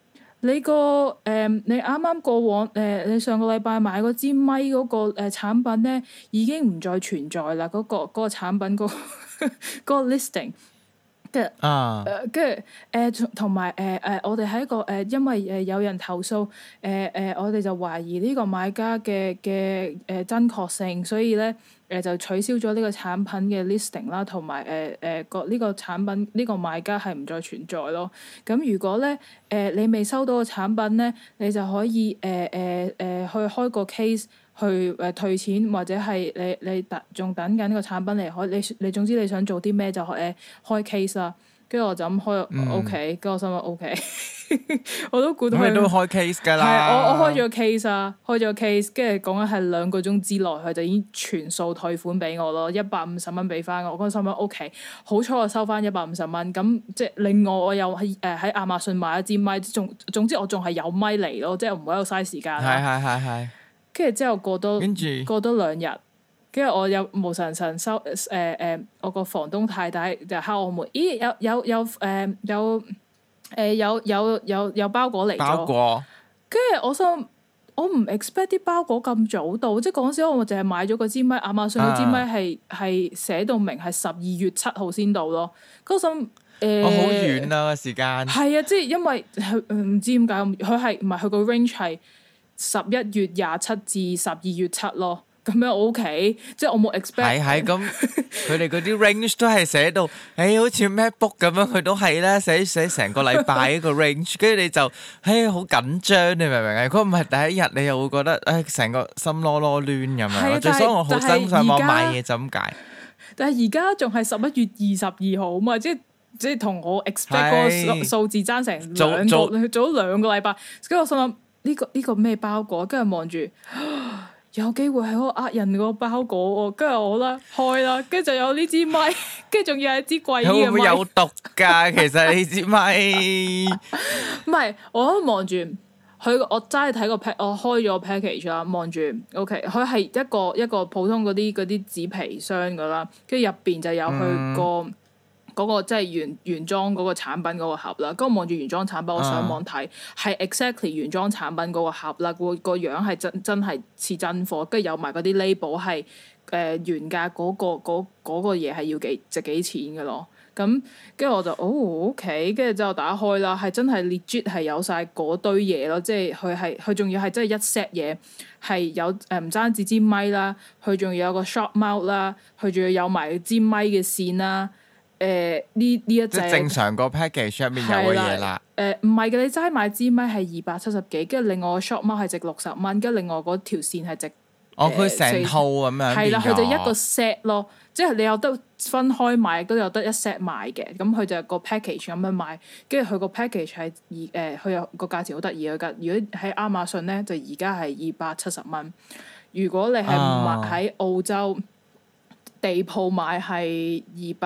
你你啱啱過往你上個禮拜買嗰支咪嗰個產品咧，已經唔再存在啦。嗰個產品嗰個 listing。跟住同埋我哋喺一個因為有人投訴我哋就懷疑呢個買家嘅真確性，所以咧就取消咗呢個產品嘅 listing 啦，同埋呢個產品呢個買家係唔再存在咯。咁如果咧你未收到個產品咧，你就可以去開個 case 去退錢，或者係你仲等緊呢個產品嚟開，你總之你想做啲咩就開 case 啦。跟住我就咁開 OK， 跟住我心諗 OK， 我都估到佢。咁你都開 case 㗎啦。 係我開咗 case 啊，開咗 case，跟住講緊係2個鐘之內，佢就已經全數退款俾我咯，150蚊俾翻我。我嗰陣心諗 OK， 好彩我收翻150蚊。咁即係另外我又喺亞馬遜買一支咪，總之我仲係有咪嚟咯，即係唔會喺度嘥時間。 係。 跟住之後過多2日。跟住我有無神收我個房東太太就敲我門，咦有包裹嚟咗。包裹。跟住我心我唔 expect 啲包裹咁早到，即係嗰陣時我淨係買咗個支咪，亞馬遜嗰支咪係寫到明係12月7號先到咯。嗰陣好遠啊個時間。 係啊，即係因為唔知點解佢係唔係佢個 range 係11月27至12月7咯。咁樣 OK， 即係我冇 expect。係咁， 佢哋嗰啲 range 都係寫到，好似 MacBook 咁樣，佢都係啦，寫成個禮拜一個 range， 跟住你就，好緊張，你明唔明啊？如果唔係第一日，你又會覺得，成個心囉囉攣咁樣。最所以我好辛上網買嘢就咁解。 但係而家仲係11月22號啊嘛，即係同我 expect 個數字爭成早2個禮拜。跟住我心諗呢個咩包裹？跟住望住。有機會係我呃人個包裹喎，跟住我啦開啦，跟住就有呢支咪，跟住仲要係支貴啲嘅咪。會唔會有毒㗎？其實呢支咪唔係，我都望住佢，我齋睇個 我開咗個 package 啦，望住 OK，佢係一個普通嗰啲紙皮箱噶啦，跟住入邊就有佢嗰個即係原裝嗰個產品嗰個盒啦，跟住望住原裝產品，我上網睇係 exactly 原裝產品嗰個盒啦，個樣係真係似真貨，跟住有埋嗰啲 label 係原價嗰個嘢係要值幾錢嘅咯。咁跟住我就OK， 跟住之後打開啦，係真係 legit 係有晒嗰堆嘢咯，即係佢仲要係真係一 set 嘢係有唔單止支咪啦，佢仲要有個 short mount 啦，佢仲要有埋支咪嘅線啦。呢一隻正常個 package 入面有嘅嘢啦。唔係嘅，你齋買支咪係270幾，跟住另外個 short mount 係值60蚊，跟住另外嗰條線係值佢成套咁樣。係啦， 佢就一個 set 咯，即係你有得分開買，都有得一 set 買嘅。咁佢就個 package 咁樣賣，跟住佢個 package 係佢有個價錢好得意嘅。如果喺亞馬遜咧，就而家係270蚊。如果你係買喺澳洲。地鋪買係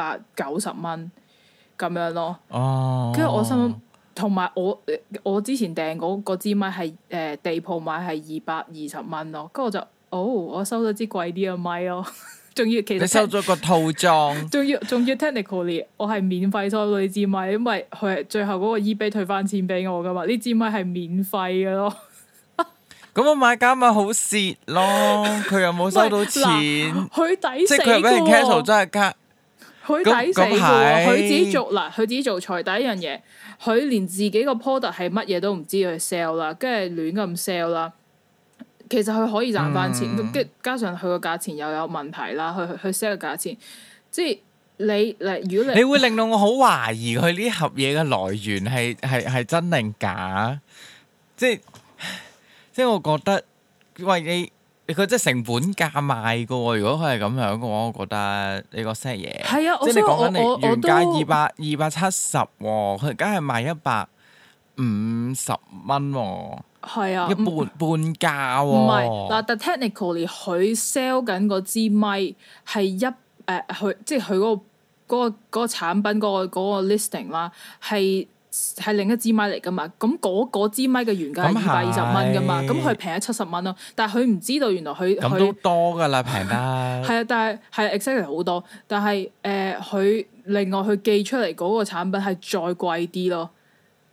290蚊咁樣咯，跟住我心諗，同埋我之前訂嗰支咪係地鋪買係220蚊咯，跟住我就我收咗支貴啲嘅咪咯，仲要其實你收咗個套裝，仲要 technically 我係免費收到呢支咪，因為佢係最後嗰個 eBay 退翻錢俾我噶嘛，呢支咪係免費嘅咯。咁我買家咪好蝕咯，佢又冇收到錢，佢抵死喎，即係佢係俾人 cancel 真係加，佢抵死喎，佢自己做錯第一樣嘢，佢連自己個 product 係乜嘢都唔知去 sell 啦，跟住亂咁 sell 啦，其實佢可以賺翻錢，跟加上佢個價錢又有問題啦，去 sell 個價錢，即係如果你會令到我好懷疑佢呢盒嘢嘅來源係真定假，即係我覺得，喂你佢真係成本價賣噶喎。如果佢係咁樣嘅話，我覺得你個 set 嘢，係啊，即係你講緊你原價270喎，佢而家係賣150蚊喎，係啊，半價喎。唔係嗱，但 technically 佢 sell 緊嗰支咪係佢即係佢嗰個產品嗰個 listing 啦，係另一支咪嚟噶嘛，咁嗰支咪嘅原價係220蚊噶嘛，咁佢平咗70蚊咯。但係佢唔知道原來佢咁都多噶啦，平得係啊，但係 exactly 好多，但係佢另外佢寄出嚟嗰個產品係再貴啲咯，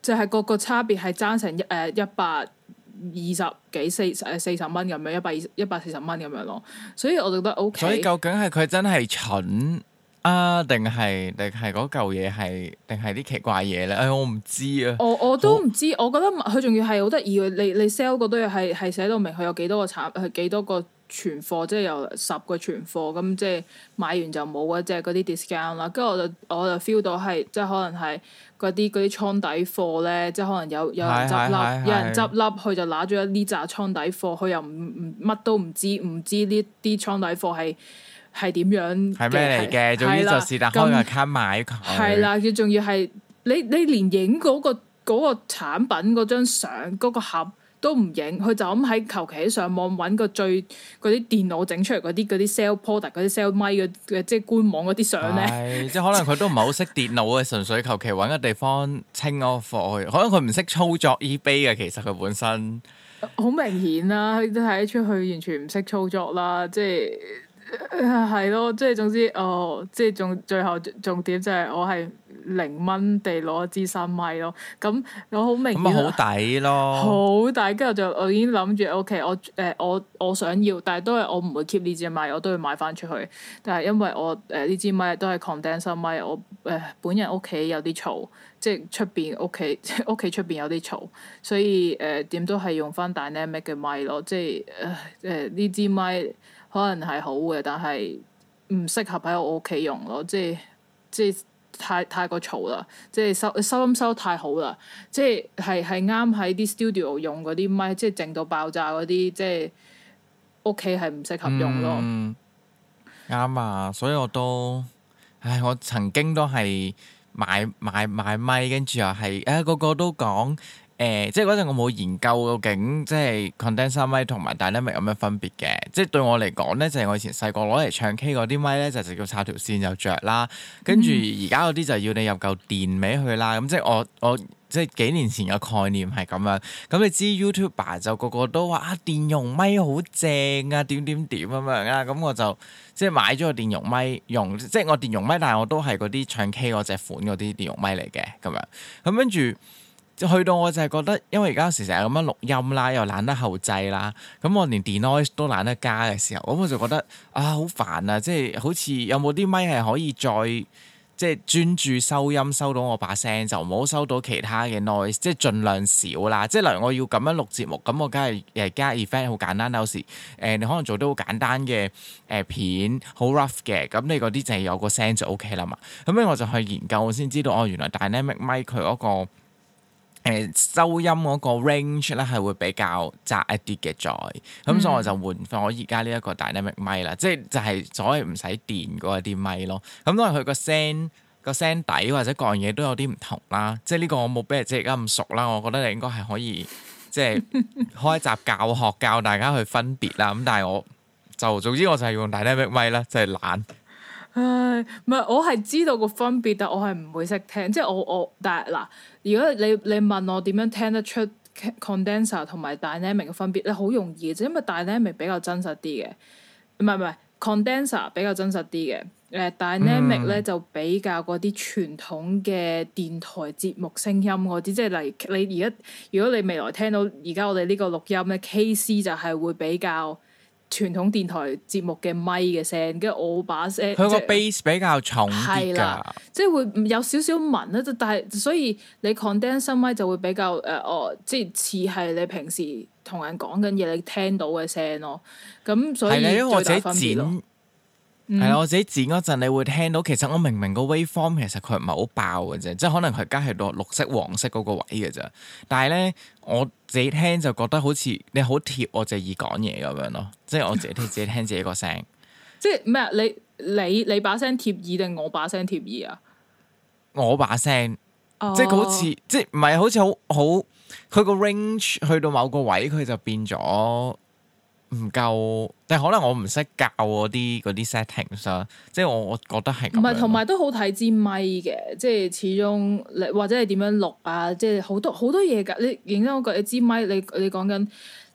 就係個差別係爭成120幾40蚊咁樣，140蚊咁樣咯。所以我覺得 OK。 所以究竟係佢真係蠢啊，定係嗰嚿嘢係定係啲奇怪嘢咧？我唔知啊。 我都唔知，我覺得佢仲要係好得意嘅。你 sell 嗰堆嘢係寫到明，佢有幾多個係幾多個存貨，即係有10個存貨咁，即係買完就冇啊，即係嗰啲 discount 啦。跟住我就 feel 到係即係可能係嗰啲倉底貨咧，即係可能有人執笠，有人執笠，佢就拿咗呢紮倉底貨，佢又唔乜都唔知呢啲倉底貨係點樣係咩嚟嘅？總之就是但開個卡買佢。 係啦，佢仲要係你連影嗰個產品嗰張相嗰個盒都唔影，佢就咁喺求其喺上網揾個嗰啲電腦整出嚟嗰啲 sell product 嗰啲 sell 咪嘅即係官網嗰啲相咧。 即係可能佢都唔係好識電腦嘅，純粹求其揾個地方清嗰個貨去。可能佢唔識操作 eBay 嘅，其實佢本身好明顯啦，都睇得出佢完全唔識操作啦，即係。係咯，即係總之，即係最後重點就係我係0蚊地攞一支新咪咯。咁我好明顯，咁好抵咯， 好抵。跟住我已經諗住，OK，我想要，但係都係我唔會 keep 呢支咪，我都會買翻出去。但係因為我呢支咪都係 condenser 咪，我本人屋企有啲嘈，即係出邊屋企出邊有啲嘈，所以點都係用翻 dynamic 嘅咪咯。即係呢支咪。可能係好嘅，但係唔適合喺我屋企用咯。即係太過嘈啦，即係收音收太好啦。即係啱喺啲 studio 用嗰啲咪，即係靜到爆炸嗰啲，即係屋企係唔適合用咯。 啱啊，所以我曾經都係買咪，跟住又係個個都講。即係嗰陣我冇研究究竟即係 condenser 咪同埋 dynamic 有咩分別嘅。即係對我嚟講咧，就係我以前細個攞嚟唱 K 嗰啲咪咧，就直接插條線就着啦。跟住而家嗰啲就要你入嚿電尾去啦。咁即係我即係幾年前嘅概念係咁樣。咁你知 YouTuber 就個個都話電容咪好正啊，點咁樣啊。咁我就即係買咗個電容咪用，即係我電容咪，但係我都係嗰啲唱 K 嗰隻款嗰啲電容咪嚟嘅咁樣。咁跟住。去到我就係覺得，因為而家有時成日咁樣錄音啦，又懶得後製啦，咁我連 denoise 都懶得加嘅時候，咁我就覺得好煩啊！即係好似有冇啲咪係可以再即係專注收音，收到我把聲，就唔好收到其他嘅 noise， 即係盡量少啦。即係例如我要咁樣錄節目，咁我梗係加 effect 好簡單。有時你可能做啲好簡單嘅片，好 rough 嘅，咁你嗰啲就係有個聲就 OK 啦嘛。咁咧我就去研究，我先知道原來 dynamic 咪佢嗰個。收音嗰個 range 咧係會比較窄一啲嘅，咁所以我就換翻我而家呢一個 dynamic 咪啦，即係就係所謂唔使電嗰啲咪咯。咁當然佢個聲底或者各樣嘢都有啲唔同啦。即係呢個我冇俾你即係而家咁熟啦，我覺得你應該係可以即係開一集教學教大家去分別啦。咁但係總之我就係用 dynamic 咪啦，就係懶。 唉，唔係我係知道個分別，但我係唔會識聽。即係我但係嗱，如果你問我點樣聽得出 condenser 同埋 dynamic 嘅分別咧，好容易嘅啫，因為 dynamic 比較真實啲嘅，唔係 condenser 比較真實啲嘅。dynamic 咧就比較嗰啲傳統嘅電台節目聲音嗰啲，即係例如你而家如果你未來聽到而家我哋呢個錄音咧 KC 就係會比較。傳統電台節目嘅咪嘅聲，跟住我把聲，佢個 bass 比較重啲㗎， 即係會有少少紋啦。但係所以你 condenser 咪就會比較即係似係你平時同人講緊嘢你聽到嘅聲咯。咁所以最大分別咯。 係啦，我自己剪嗰陣，你會聽到其實我明個 waveform 其實佢唔係好爆嘅啫，即係可能佢加係到綠色、黃色嗰個位嘅啫。但係咧，我自己聽就覺得好似你好貼我隻耳講嘢咁樣咯，即係我自己聽自己個聲。 即係咩啊？你把聲貼耳定我把聲貼耳啊？我把聲， 即係佢好似即係唔係好似好佢個 range 去到某個位佢就變咗。唔夠，但係可能我唔識教嗰啲 settings 啦，即係我覺得係咁樣。唔係，同埋都好睇支咪嘅，即係始終你或者係點樣錄啊，即係好多嘢㗎。你認真講句，你支咪你講緊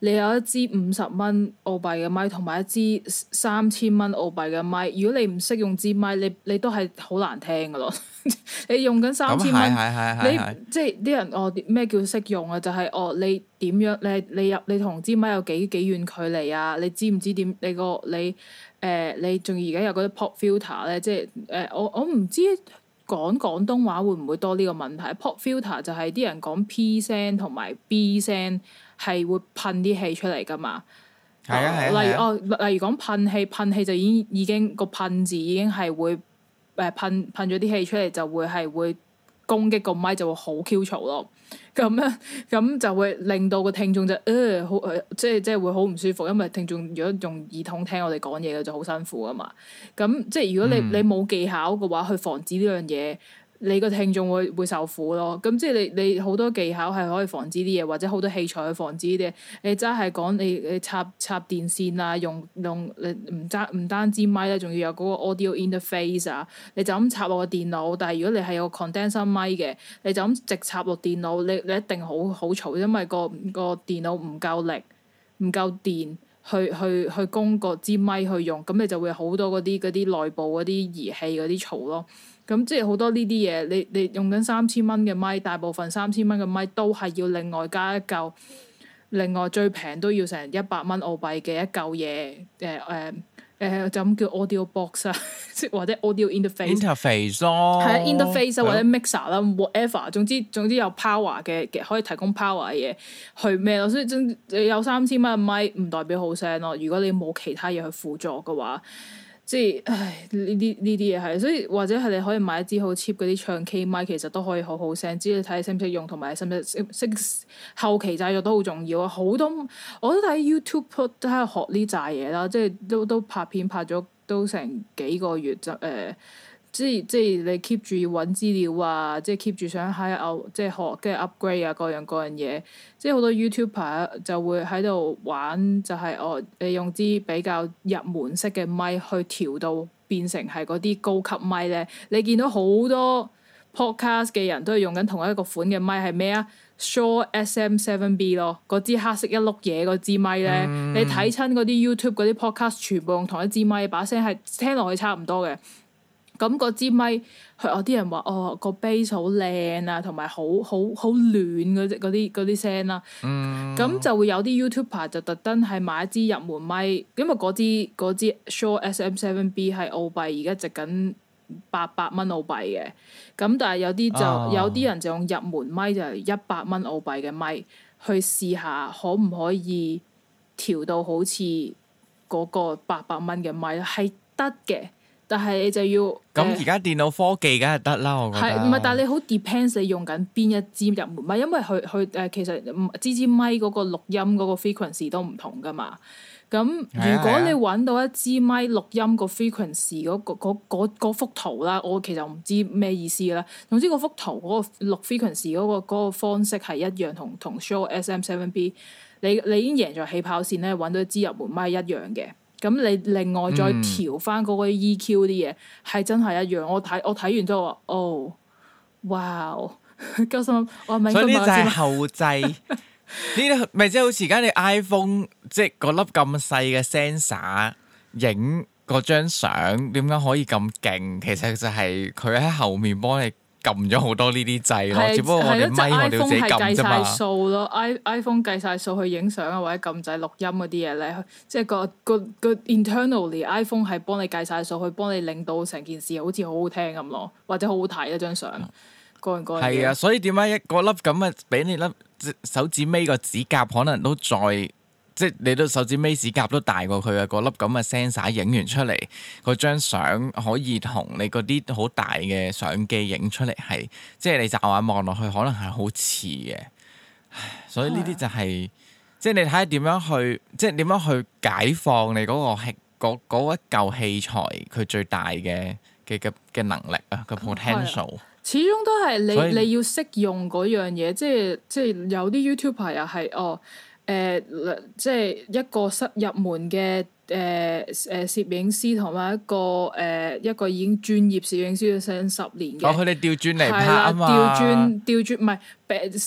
你有一支50蚊澳幣嘅咪，同埋一支3000蚊澳幣嘅咪。如果你唔識用支咪，你都係好難聽噶咯。你用緊3000蚊，你即係啲人咩叫識用啊？就係你點樣你同支咪有幾遠距離啊？你知唔知點你仲而家有嗰啲 pop filter 咧？即係我唔知講廣東話會唔會多呢個問題？pop filter 就係啲人講 P 聲同埋 B 聲係會噴啲氣出嚟噶嘛？例如講噴氣就已經個噴字已經係會噴咗啲氣出嚟，就會攻擊個咪，就會好 Q 嘈咯。咁就會令到個聽眾就好即係會好唔舒服，因為聽眾如果用耳筒聽我哋講嘢嘅就好辛苦啊嘛。咁即係如果你冇技巧嘅話，去防止呢樣嘢，你個聽眾會受苦咯。咁即係你好多技巧係可以防止啲嘢，或者好多器材去防止啲嘢。你真係講你插電線啊，用你唔單止咪咧，仲要有嗰個 audio interface 啊。你就咁插落個電腦，但係如果你係有個 condenser 咪嘅，你就咁直插落電腦，你一定好嘈，因為個電腦唔夠力，唔夠電去供個支咪去用，咁你就會好多嗰啲內部嗰啲儀器嗰啲嘈咯。咁即係好多呢啲嘢，你用緊3000蚊嘅咪，大部分3000蚊嘅咪都係要另外加一嚿，另外最平都要成100蚊澳幣嘅一嚿嘢，就咁叫 audio box 啊，或者 audio interface 咯， 係啊 interface 或者 mixer 啦 whatever，總之有 power 嘅可以提供 power 嘅嘢去咩咯，所以你有3000蚊嘅咪唔代表好聲咯，如果你冇其他嘢去輔助嘅話。即係呢啲嘢係，所以或者係你可以買一支好 cheap 嗰啲唱 K 咪，其實都可以好好聲。只要你睇你識唔識用，同埋識唔識後期製作都好重要啊！好多我都睇 YouTube 都喺度學呢扎嘢啦，即係都拍片拍咗都成幾個月就即係你 keep 住要揾資料啊，即係 keep 住想即係學跟住 upgrade 啊，各樣嘢，即係好多 YouTuber 就會喺度玩，就係你用支比較入門式嘅咪去調到變成係嗰啲高級咪咧。你見到好多 podcast 嘅人都係用緊同一個款嘅咪，係咩啊？Shure SM7B 咯，嗰支黑色一碌嘢嗰支咪咧，你睇親嗰啲 YouTube 嗰啲 podcast 全部用同一支咪，把聲係聽落去差唔多嘅。咁嗰支咪，有啲人話個 bass 好靚啊，同埋好暖嗰啲聲啦。咁就會有啲 YouTuber 就特登係買一支入門咪，因為嗰支 Shure SM7B 係澳幣而家值緊800蚊澳幣嘅。咁但係有啲人就用入門咪，就係100蚊澳幣嘅咪去試下，可唔可以調到好似嗰個800蚊嘅咪係得嘅。但係你就要咁而家電腦科技梗係得啦，我覺得係唔係？但係你好 depends 你用緊邊一支入門咪，因為佢其實支咪嗰個錄音嗰個 frequency 都唔同噶嘛。咁如果你揾到一支咪錄音個 frequency 嗰幅圖啦，我其實唔知咩意思啦。總之嗰幅圖嗰個錄 frequency 嗰個方式係一樣，同 Shure SM7B 你已經贏在起跑線咧，揾到一支入門咪一樣嘅。咁你另外再調翻嗰個 EQ 啲嘢係真係一樣。我睇完之後話哇！鳩心我係咪應該買？所以呢就係後製呢啲咪即係好似而家你 iPhone 即係嗰粒咁細嘅 sensor 影嗰張相點解可以咁勁？其實就係佢喺後面幫你撳咗好多呢啲掣咯，只不過我哋咪我哋自己撳啫嘛。iPhone 係計晒數咯，iPhone 計晒數去影相啊，或者撳掣錄音嗰啲嘢咧，即係個 internally iPhone 係幫你計晒數，去幫你令到成件事好似好好聽咁咯，或者好好睇一張相。個人係啊，所以點解一個粒咁嘅俾你粒手指尾個指甲可能都再即係你都手指尾指甲都大過佢嘅嗰粒咁嘅 sensor 影完出嚟，嗰張相可以同你嗰啲好大嘅相機影出嚟係，即係你驟眼望落去可能係好似嘅。所以呢啲就係即係你睇下點樣去，即係點樣去解放你嗰一嚿器材佢最大嘅能力啊，個 potential。 始終都係你要識用嗰樣嘢，即係有啲 YouTuber 又係即係一個入門嘅攝影師，同埋一個已經專業攝影師成10年嘅。佢哋調轉嚟拍啊嘛。調轉唔係嗰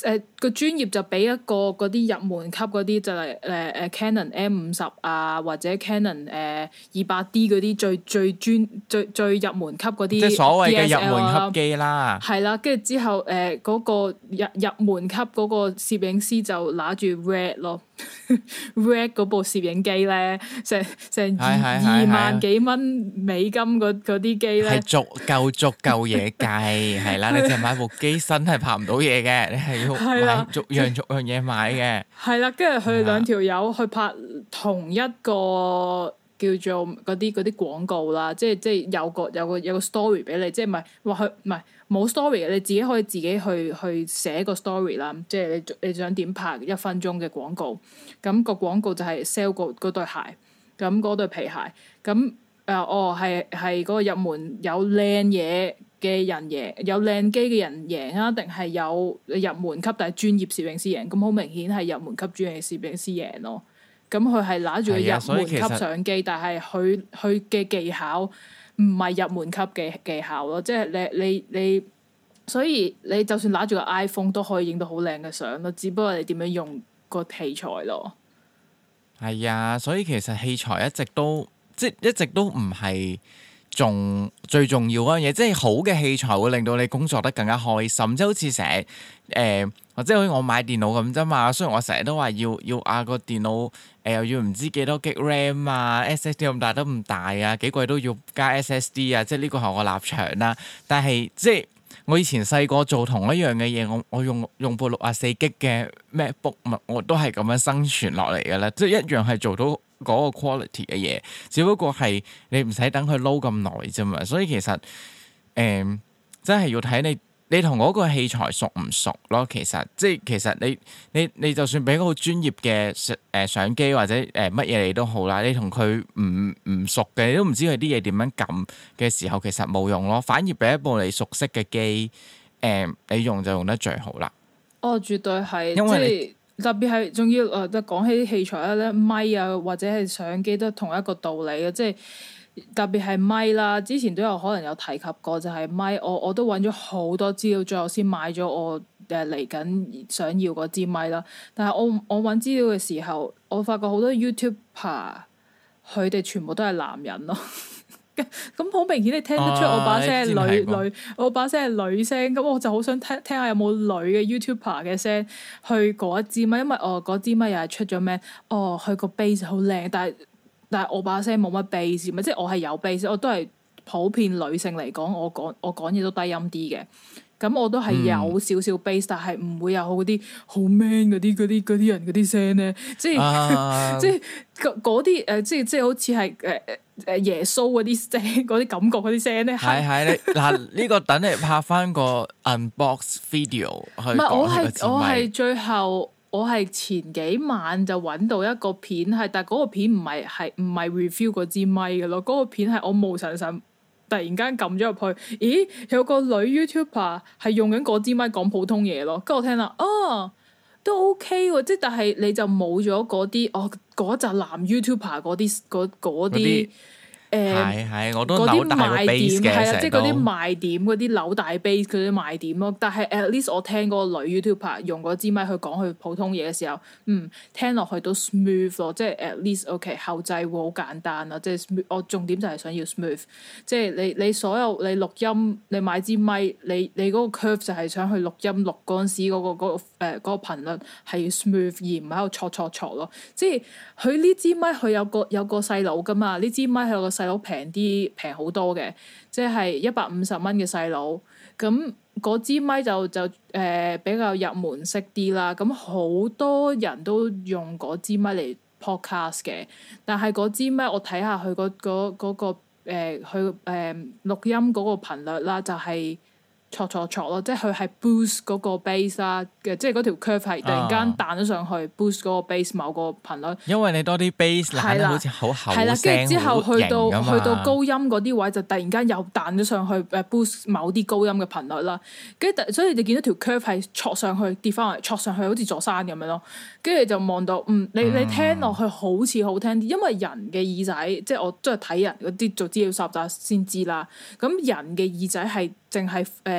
個專業就俾一個嗰啲入門級嗰啲就係Canon M50啊，或者 Canon 200D 嗰啲最入門級嗰啲，即係所謂嘅入門級機啦。 係啦，跟住之後嗰個入門級嗰個攝影師就拿住 Red 咯，Red 嗰部攝影機咧，成2萬幾蚊美金嗰啲機咧，係足夠嘢計，係啦，你淨係買部機身係拍唔到嘢嘅，你係要買逐樣嘢買嘅。係啦，跟住佢哋兩條友去拍同一個叫做嗰啲廣告啦，即係有個 story 俾你，即係唔係冇 story 嘅，你自己可以自己去寫個 story 啦，即係你想點拍1分鐘嘅廣告，咁個廣告就係 sell 嗰對鞋，咁嗰對皮鞋，咁係嗰個入門有靚嘢嘅人贏，有靚機嘅人贏啊，定係有入門級但係專業攝影師贏？咁好明顯係入門級專業攝影師贏咯。咁佢係拿住個入門級相機，但係佢嘅技巧唔係入門級嘅技巧咯。即係你，所以你就算拿住個 iPhone 都可以影到好靚嘅相咯。只不過你點樣用個器材咯。係啊，所以其實器材一直都唔係最重要嗰樣嘢，即係好嘅器材會令到你工作得更加開心，即係好似成日或者好似我買電腦咁啫嘛。雖然我成日都話要個電腦又要唔知幾多 G RAM 啊 ，SSD 咁大都唔大啊，幾貴都要加 SSD 啊，即係呢個係我立場啦。但係即係我以前細個做同一樣嘅嘢，我用部64G 嘅 MacBook，我都係咁樣生存落嚟嘅啦，即係一樣係做到嗰個 quality 嘅嘢，只不過係你唔使等佢撈咁耐啫嘛。所以其實真係要睇你同嗰個器材熟唔熟咯。其實你就算俾個好專業嘅相機或者乜嘢你都好啦，你同佢唔熟嘅，你都唔知佢啲嘢點樣撳嘅時候，其實冇用咯。反而俾一部你熟悉嘅機，你用就用得最好啦。絕對係，因為特別係仲要講起啲器材咧，咪啊或者係相機都同一個道理嘅，即係特別係咪啦。之前都有可能有提及過，就係咪我都揾咗好多資料，最後先買咗我嚟緊想要嗰支咪啦。但係我揾資料嘅時候，我發覺好多 YouTuber 佢哋全部都係男人咯。咁好明顯你聽得出我把聲係女，我把聲係女聲，咁我就好想聽下有冇女嘅 YouTuber 嘅聲去嗰一支咪，因為嗰支咪又係出咗咩？佢個 bass 好靚，但係我把聲冇乜 bass，咪即係我係有 bass，我都係普遍女性嚟講，我講嘢都低音啲嘅。咁我都係有少少 bass，但係唔會有嗰啲好 man 嗰啲人嗰啲聲咧，即係即係嗰啲即係好似係耶穌嗰啲聲，嗰啲感覺嗰啲聲咧。係嗱，呢個等你拍翻個 unbox video 去講呢個支咪。我係最後我係前幾晚就揾到一個片係，但係嗰個片唔係 review 嗰支咪嘅咯，嗰個片係我無神神突然間撳咗入去，咦，有個女 YouTuber 係用緊嗰支咪講普通嘢咯，跟住我聽啦，都 OK 喎，即係但係你就冇咗嗰啲嗰集男 YouTuber 嗰啲。係，我都扭大個 base 嘅，係啊，即係嗰啲賣點，嗰啲扭大 base 嗰啲賣點咯。但係 at least 我聽嗰個女 YouTuber 用嗰支咪去講佢普通嘢嘅時候，聽落去都 smooth 咯。即係 at least OK 後製會好簡單啦。即係 smooth，我重點就係想要 smooth。即係你所有你錄音，你買支咪，你嗰個 curve 就係想去錄音錄嗰陣時嗰個頻率係要 smooth，而唔喺度錯咯。即係佢呢支咪佢有個細佬噶嘛，呢支咪係有個細佬平好多嘅，即係150蚊嘅細佬。咁嗰支咪就比較入門式啲啦。咁好多人都用嗰支咪嚟 podcast 嘅，但係嗰支咪我睇下佢嗰個佢錄音嗰個頻率啦，就係錯咯，即係佢係 boost 嗰個 bass 啦嘅，即係嗰條 curve 係突然間彈咗上去 boost 嗰個 bass 某個頻率。因為你多啲 bass 彈得好似好厚聲，跟住之後去到高音嗰啲位就突然間又彈咗上去boost 某啲高音嘅頻率啦。跟住所以你見到條 curve 係挫上去跌翻嚟，挫上去好似座山咁樣咯。跟住就望到你聽落去好似好聽啲，因為人嘅耳仔即係我都係睇人嗰啲做資料搜集先知啦。咁人嘅耳仔係淨係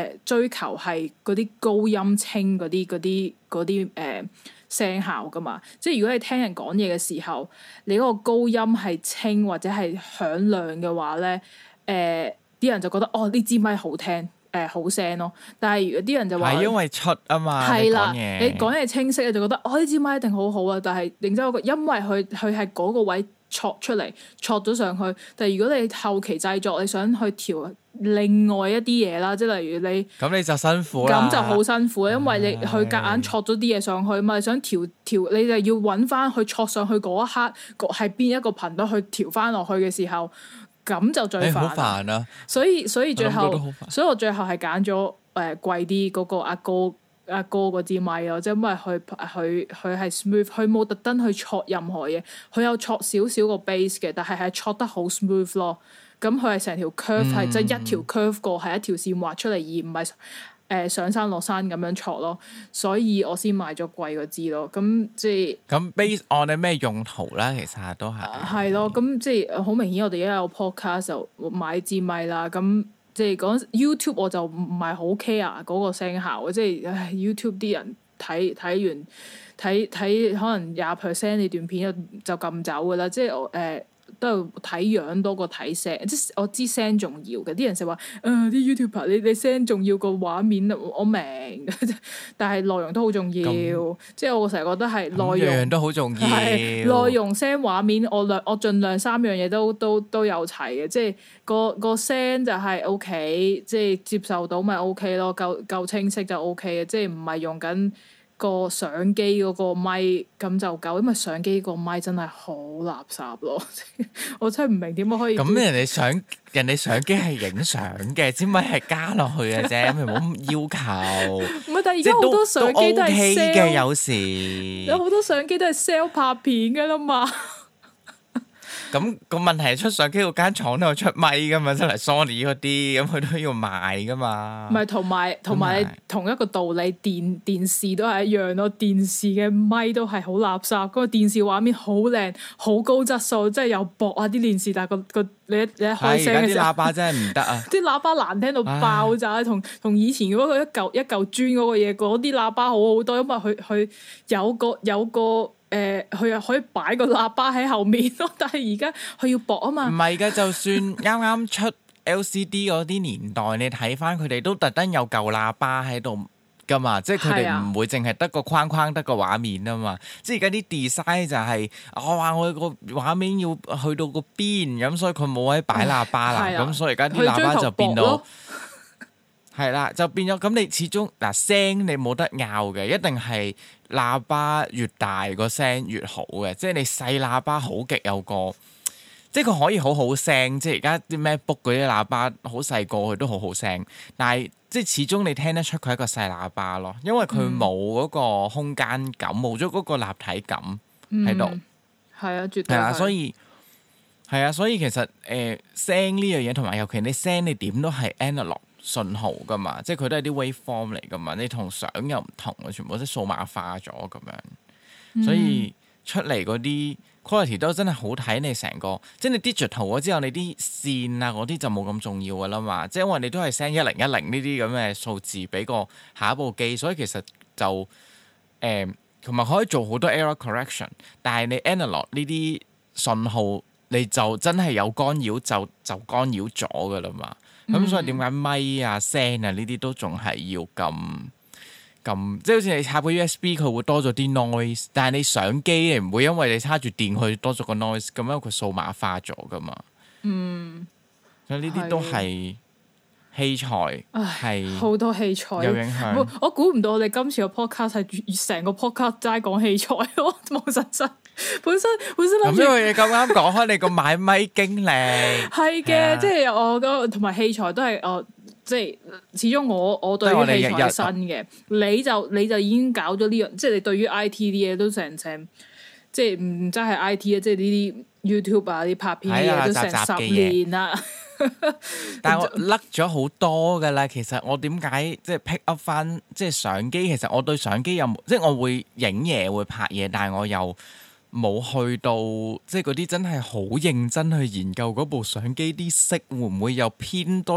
追求係嗰啲高音清嗰啲聲效噶嘛。即係如果你聽人講嘢嘅時候，你嗰個高音係清或者係響亮嘅話咧，啲人就覺得呢支咪好聽。好聲咯，但係如果啲人就話係因為出啊嘛，係啦，你講嘢清晰，就覺得呢支咪一定好好啊。但係認真嗰個，因為佢係嗰個位戳出嚟，戳咗上去。但係如果你後期製作，你想去調另外一啲嘢啦，即係例如你咁你就辛苦啦，咁就好辛苦，因為你佢夾硬戳咗啲嘢上去嘛，你想調，你就要揾翻去戳上去嗰一刻係邊一個頻率去調翻落去嘅時候。咁就最煩，好煩啊！所以最後，所以我最後係揀咗貴啲嗰個阿哥嗰支咪咯，即係因為佢係 smooth，佢冇特登去戳任何嘢，佢有戳少少個 bass 嘅，但係戳得好 smooth 咯。咁佢係成條 curve 係即係一條 curve 過係一條線畫出嚟，而唔係上山落山咁樣戳咯。所以我先買咗貴嗰支咯。咁即係咁 base on 你咩用途啦？其實都係係咯。咁即係好明顯，我哋而家有 podcast 就買支咪啦。咁即係講 YouTube 我就唔係好 care 嗰個聲效，即係 YouTube 啲人睇完睇可能20% 你段片就撳走㗎啦。即係都係睇樣多過睇聲，即係我知聲重要嘅。啲人成日話啲 YouTuber 你聲重要過畫面，我明，但係內容都好重要。即係我成日覺得係內容都好重要。內容聲畫面，我盡量3樣嘢都有齊嘅。即係個聲就係 OK，即係接受到咪 OK 咯，夠清晰就 OK 嘅。即係唔係用緊個相機嗰個咪咁就夠，因為相機個咪真係好垃圾咯。我真係唔明點解可以咁。人哋相機係影相嘅，支咪係加落去嘅啫，咁唔好咁要求。唔係，但係而家好多相機都係 sell 嘅，有時有好多相機都係 sell 拍片嘅啦嘛。咁個問題係出相機嗰間廠都有出咪噶嘛，真係 Sony 嗰啲，咁佢都要賣噶嘛。唔係，同埋你同一個道理，電視都係一樣咯。電視嘅咪都係好垃圾，嗰個電視畫面好靚，好高質素，即係又薄啊啲電視，但係個你一開聲嘅時候，啲喇叭真係唔得啊！啲喇叭難聽到爆炸，同以前嗰個一嚿磚嗰個嘢，嗰啲喇叭好好多，因為佢有個。佢又可以擺個喇叭喺後面咯，但係而家佢要薄啊嘛。唔係㗎，就算啱啱出 LCD 嗰啲年代，你睇翻佢哋都特登有嚿喇叭喺度㗎嘛，即係佢哋唔會淨係得個框框得個畫面啊嘛。即係而家啲 design 就係我話我個畫面要去到個邊咁，所以佢冇位擺喇叭啦。咁所以而家啲喇叭就變到係啦，就變咗咁。你始終聲你冇得拗嘅，一定係喇叭越大個聲越好嘅。即係你細喇叭好極有個，即係佢可以好好聲。即係而家啲 MacBook 嗰啲喇叭好細個，佢都好好聲。但係即係始終你聽得出佢係一個細喇叭咯，因為佢冇嗰個空間感，冇咗嗰個立體感喺度。係啊，絕對係啊，所以其實聲呢樣嘢，同埋尤其你聲你點都係 analog信號噶嘛，即係佢都係啲 waveform 嚟噶嘛，你同相又唔同啊，全部都數碼化咗咁樣，所以出嚟嗰啲 quality 都真係好睇。你成個即係你 digital 咗之後，你啲線啊嗰啲就冇咁重要噶啦嘛，即係因為你都係 send 1010呢啲咁嘅數字俾個下一部機，所以其實就同埋可以做好多 error correction， 但係你 analog 呢啲信號你就真係有干擾就干擾咗噶啦嘛。咁所以點解咪啊聲啊呢啲都仲係要咁，即係好似你插個 USB 佢會多咗啲 noise， 但係你相機你唔會因為你插住電佢多咗個 noise， 咁樣佢數碼化咗噶嘛。所以呢啲都係器材，係好多器材有影響。我估唔到我哋今次個 podcast 係成個 podcast 齋講器材咯，冇實質。本身諗住咁樣嘢咁啱講開你個買咪經歷係嘅，即係我個同埋器材都係我即係始終我對於器材係新嘅，你就已經搞咗呢樣，即係你對於 IT 啲嘢都成即係唔真係 IT 啊，即係呢啲 YouTube 啊啲拍片嘅嘢都成10年啦。但係我甩咗好多噶啦，其實我點解即係 pick up 翻即係相機？其實我對相機有即係我會影嘢會拍嘢，但係我又冇去到即係嗰啲真係好認真去研究嗰部相機啲色會唔會又偏多啲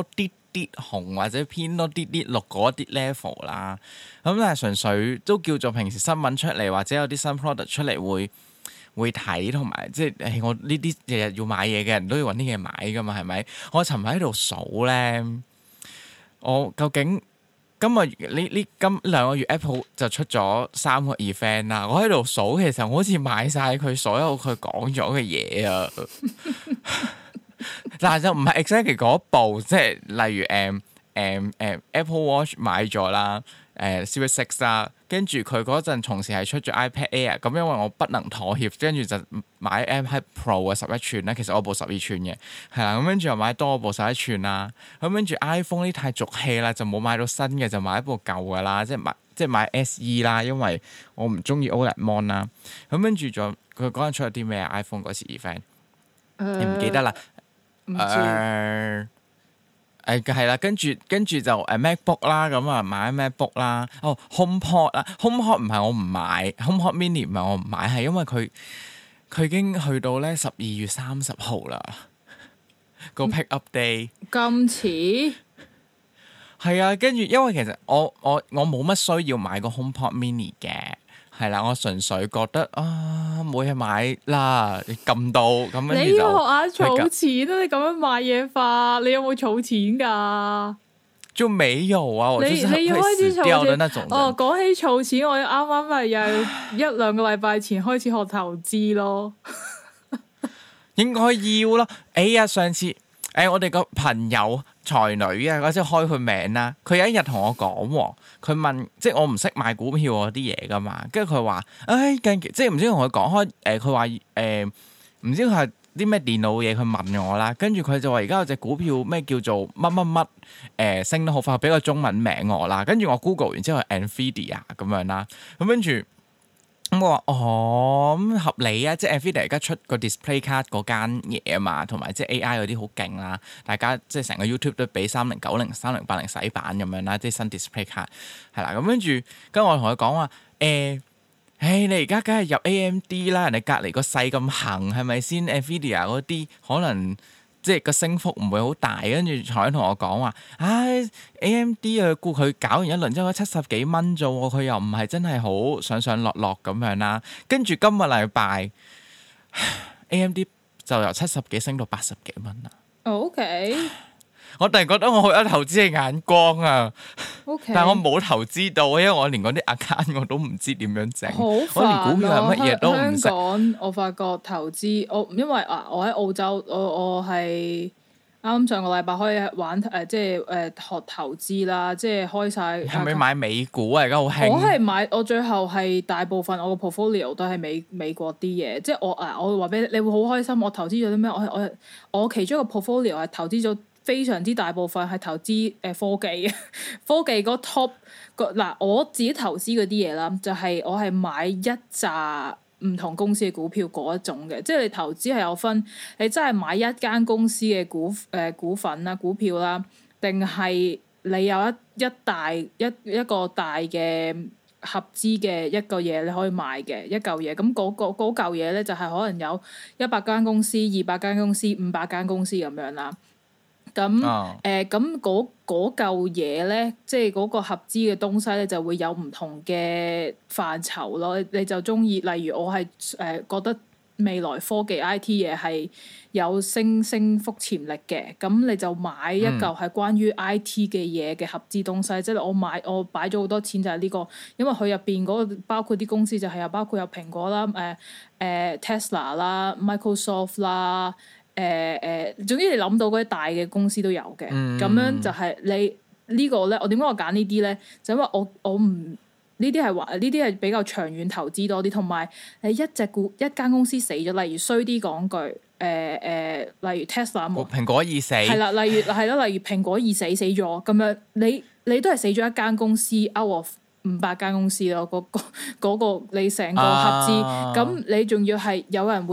啲紅或者偏多啲綠嗰啲 level 啦。咁但係純粹都叫做平時新聞出嚟或者有啲新 product 出嚟會睇，同埋即係我呢啲日日要買嘢嘅人都要揾啲嘢買噶嘛，係咪？我尋日喺度數咧，我究竟今兩個月 Apple 就出咗3個 event 啦。我喺度數，其實我好似買晒佢所有佢講咗嘅嘢啊。但係就唔係 exactly 嗰部，即係例如Apple Watch 買咗啦，Series 6啦，跟住佢嗰陣同時係出咗 iPad Air，咁因為我不能妥協，跟住就買 iPad Pro 嘅11吋啦，其實我部12吋嘅，係啦，咁跟住又買多部11吋啦，咁跟住 iPhone 呢太俗氣啦，就冇買到新嘅，就買一部舊嘅啦，即係買 SE 啦，因為我唔中意 OLED Mon 啦，咁跟住仲佢嗰陣出咗啲咩 iPhone 嗰時 event，你唔記得啦？係啦，跟住就MacBook 啦，咁啊買 MacBook 啦。哦 HomePod 啦，HomePod 唔係我唔買，HomePod Mini 唔係我唔買，係因為佢已經去到咧12月30號啦，個 pick up day 咁遲。 係啊，跟住因為其實我冇乜需要買個 HomePod Mini 嘅。係啦，我純粹覺得冇嘢買啦，你撳到咁跟住就。你要學下儲錢啊！你咁樣買嘢法，你有冇儲錢㗎？ 就沒有啊！ 你要開始儲錢。講起儲錢，我啱啱咪又1-2個禮拜前開始學投資咯。 應該要咯。上次我哋個朋友才女啊，嗰陣開佢名啦。佢有一日同我講，佢問即係我唔識買股票嗰啲嘢噶嘛，跟住佢話，近期即係唔知同佢講開，佢話唔知佢係啲咩電腦嘢，佢問我啦。跟住佢就話而家有隻股票咩叫做乜乜乜升得好快，俾個中文名我啦。跟住我 Google 完之後係 Nvidia 咁樣啦，咁跟住。咁我話咁合理啊，即係 Nvidia 而家出個 display card 嗰間嘢啊嘛，同埋即係 AI 嗰啲好勁啦，大家即係成個 YouTube 都俾3090、3080洗版咁樣啦，即係新 display card 係啦。咁跟住我同佢講話你而家梗係入 AMD 啦，人哋隔離個勢咁行係咪先 Nvidia 嗰啲可能。即係個升幅唔會好大，跟住才同我講話，AMD 啊，估佢搞完一輪之後70幾蚊啫喎，佢又唔係真係好上上落落咁樣啦。跟住今個禮拜 AMD 就由70幾升到80幾蚊啦。 OK。我突然覺得我好有投資嘅眼光啊 ！Okay. 但係我冇投資到，因為我連嗰啲 account 我都唔知點樣整， 我連股票係乜嘢都唔識。 香港我發覺投資，因為我喺澳洲，我係啱上個禮拜可以玩即係學投資啦，即係開晒。係咪買美股啊？而家好興。 我最後係大部分我個 portfolio 都係美國啲嘢，即係我話俾你會好開心。我投資咗啲咩？我其中一個 portfolio 係投資咗。非常之大部分係投資科技嘅，科技嗰 top 嗱，我自己投資嗰啲嘢啦，就係我係買一紮唔同公司嘅股票嗰一種嘅，即係你投資係有分，你真係買一間公司嘅股份啦、股票啦，定係你有一個大嘅合資嘅一個嘢你可以買嘅一嚿嘢，咁嗰嚿嘢咧就係可能有100間公司、200間公司、500間公司咁樣啦。咁嗰嚿嘢咧，即係嗰個合資嘅東西咧，就會有唔同嘅範疇咯。你就中意，例如我係覺得未來科技 IT 嘢係有升幅潛力嘅，咁你就買一嚿係關於 IT 嘅嘢嘅合資東西。即係我擺咗好多錢就係呢個，因為佢入邊嗰個包括啲公司就係包括有蘋果啦、Tesla 啦、Microsoft 啦。總之你諗到嗰啲大嘅公司都有嘅，咁樣就係你呢個咧。我點解我揀呢啲咧？就因為我唔呢啲係比較長遠投資多啲，同埋你一間公司死咗，例如衰啲講句，例如 Tesla 冇蘋果已死， 係啦，例如蘋果已死咗咁樣，你都係死咗一間公司 out of 500間公司咯，嗰個你成個合資，咁你仲要係有人會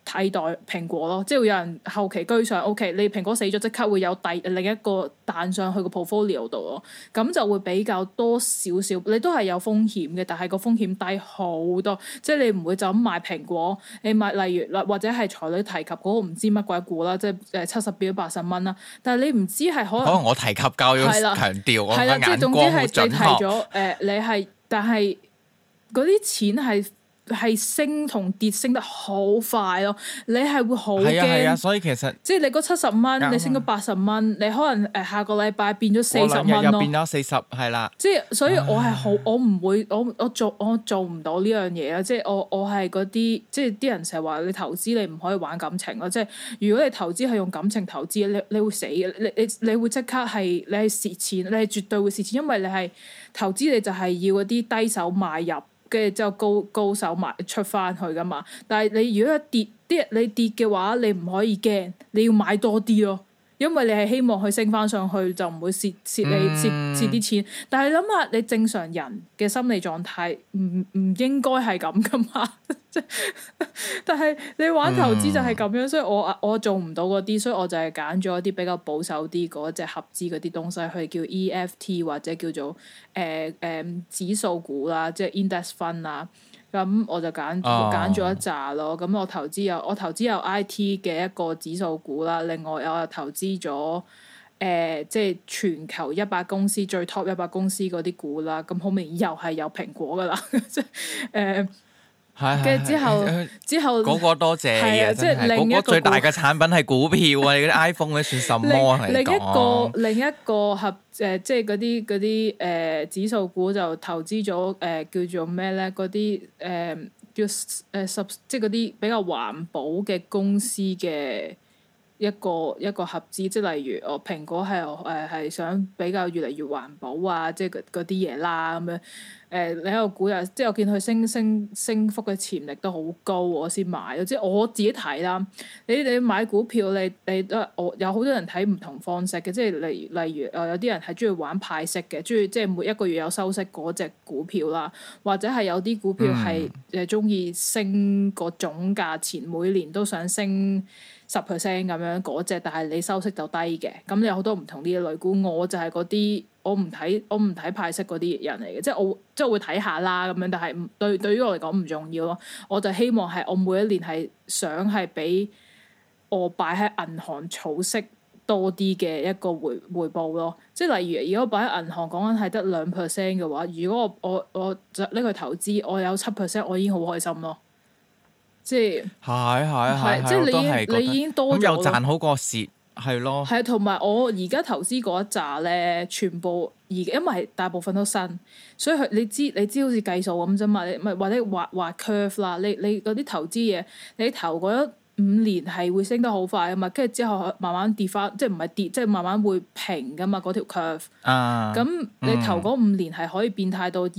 替代蘋果咯，即係會有人後期居上。OK， 你蘋果死咗，即刻會有另一個彈上去個 portfolio 度咯，咁就會比較多少少。你都係有風險嘅，但係個風險低好多。即係你唔會就咁買蘋果，你買例如或者係才女提及嗰個唔知乜鬼股啦，即係70變咗80蚊啦。但係你唔知係可能我提及夠要強調我嘅眼光好準確。 即係總之係你提咗你係，但係嗰啲錢係升同跌升得好快咯，你係會好驚。 係啊，所以其實即係你嗰70蚊，你升咗80蚊，你可能下個禮拜變咗40蚊咯。 又變咗40，係啦。 即係所以我係好，我唔會，我做唔到呢樣嘢啊！即係我係嗰啲，即係啲人成日話你投資你唔可以玩感情咯。即係如果你投資係用感情投資，你會死嘅。你會即刻係你係蝕錢，你係絕對會蝕錢，因為你係投資你就係要嗰啲低手買入。跟住之後高手賣出翻去噶嘛，但係你如果你跌嘅話，你唔可以驚，你要買多啲咯，因為你係希望佢升翻上去就唔會蝕啲錢。但係諗下你正常人嘅心理狀態唔應該係咁噶嘛？但係你玩投資就係咁樣，所以我做唔到嗰啲，所以我就係揀咗一啲比較保守啲嗰隻合資嗰啲東西，佢叫 EFT 或者叫做指數股啦，即係 index fund 啊。咁我就揀咗一紮咯。咁我投資有 IT 嘅一個指數股啦，另外我又投資咗即係全球100公司最 top 100公司嗰啲股啦。咁後面又係有蘋果噶啦，即係跟住之後嗰個多謝嘅， 即係另一個最大嘅產品係股票啊！你嗰啲 iPhone 嗰啲算什麼嚟講？另一個即係嗰啲指數股就投資咗叫做咩咧？嗰啲叫即係嗰啲比較環保嘅公司嘅一個合資，即係例如蘋果係想比較越嚟越環保啊，即係嗰啲嘢啦咁樣。另一個股又即係我見佢升幅嘅潛力都好高，我先買。即係我自己睇啦。你買股票你都我有好多人睇唔同方式嘅，即係例如有啲人係中意玩派息嘅，中意即係每一個月有收息嗰隻股票啦，或者係有啲股票係中意升個總價錢，每年都想升10% 咁樣嗰隻，但係你收息就低嘅。咁你有好多唔同啲嘅類股，我就係嗰啲。我唔睇派息嗰啲人嚟嘅，即係我會睇下啦咁樣，但係對於我嚟講唔重要咯。我就希望係我每一年係想係俾我擺喺銀行儲息多啲嘅一個回報咯。即係例如，如果擺喺銀行講緊係得2% 嘅話，如果我就拎去投資，我有7%，我已經好開心咯。即係即係你已經多咗， 咁又賺好過蝕。係咯， 係同埋我而家投資嗰一紮咧，全部因為大部分都新，所以你知好似計數咁啫嘛，你咪或者畫 curve 啦，你嗰啲投資嘢，你投嗰5年係會升得好快啊嘛，跟住之後慢慢跌翻，即係唔係跌，即係慢慢會平噶嘛嗰條 curve。咁你投嗰5年係可以變態到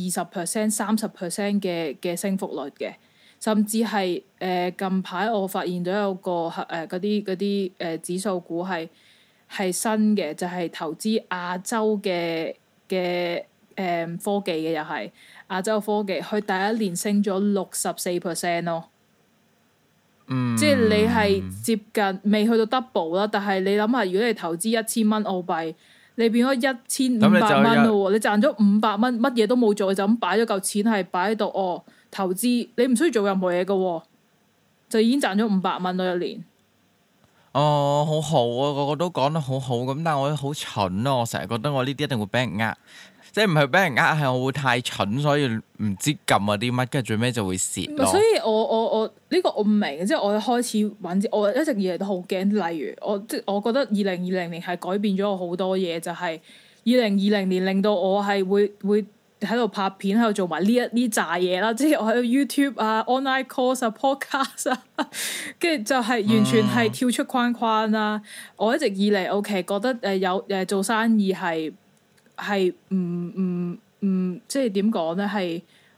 20%、30% 嘅升幅率嘅。甚至係近排我發現到有個嗰啲指數股係新嘅，就係投資亞洲嘅科技嘅，又係亞洲科技，佢第一年升咗64% 咯。即係你係接近未去到 double 啦，但係你諗下，如果你投資1000蚊澳幣，你變咗1500蚊咯喎，你賺咗500蚊，乜嘢都冇做，就咁擺咗嚿錢係擺喺度投資，你唔需要做任何嘢嘅，就已經賺咗500蚊咯一年。 好好啊，個個都講得好好咁，但係我好蠢咯，我成日覺得我呢啲一定會俾人呃，即係唔係俾人呃，係我會太蠢，所以唔知撳啊啲乜，跟住最尾就會蝕咯。所以我呢個我唔明，即係我開始揾，我一直以嚟都好驚。例如我覺得2020年係改變咗我好多嘢，就係2020年令到我係會喺度拍片，喺度做埋呢扎嘢啦，即係我喺 YouTube 啊、online course 啊、podcast 啊，跟住就係完全係跳出框框啦。我一直以嚟 OK 覺得有做生意係唔即係點講咧，係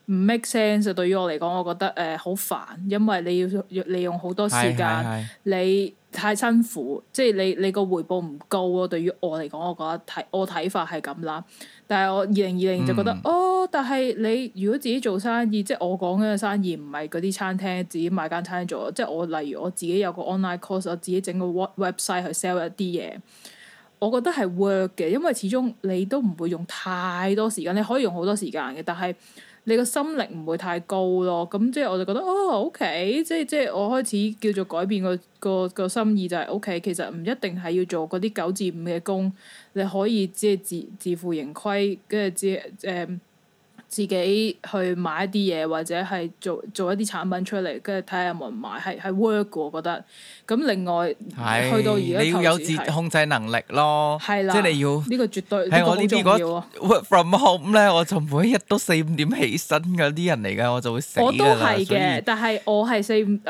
唔 make sense。對於我嚟講，我覺得好煩，因為你要利用好多時間，你太辛苦，即係你個回報唔高咯。對於我嚟講，我覺得我睇法係咁啦。但係我2020就覺得但係你如果自己做生意，即係我講嘅生意唔係嗰啲餐廳自己買間餐廳做，即係我例如我自己有個 online course，我自己整個 website 去 sell 一啲嘢。我覺得係 work 嘅，因為始終你都唔會用太多時間，你可以用好多時間嘅，但係你個心力唔會太高咯。咁即係我就覺得OK，即係我開始叫做改變個心意就係 OK。其實唔一定係要做嗰啲9至5嘅工，你可以即係自負盈虧，跟住自己去買一啲嘢，或者係做一啲產品出嚟，跟住睇下有冇人買，係 work 嘅。我覺得。咁另外去到而家你要有自控制能力咯， 係啦， 即係你要呢個絕對係我呢邊嗰個 work from home 咧，我就每一日都4-5點起身嗰啲人嚟㗎，我就會死㗎啦。我都係嘅，但係我係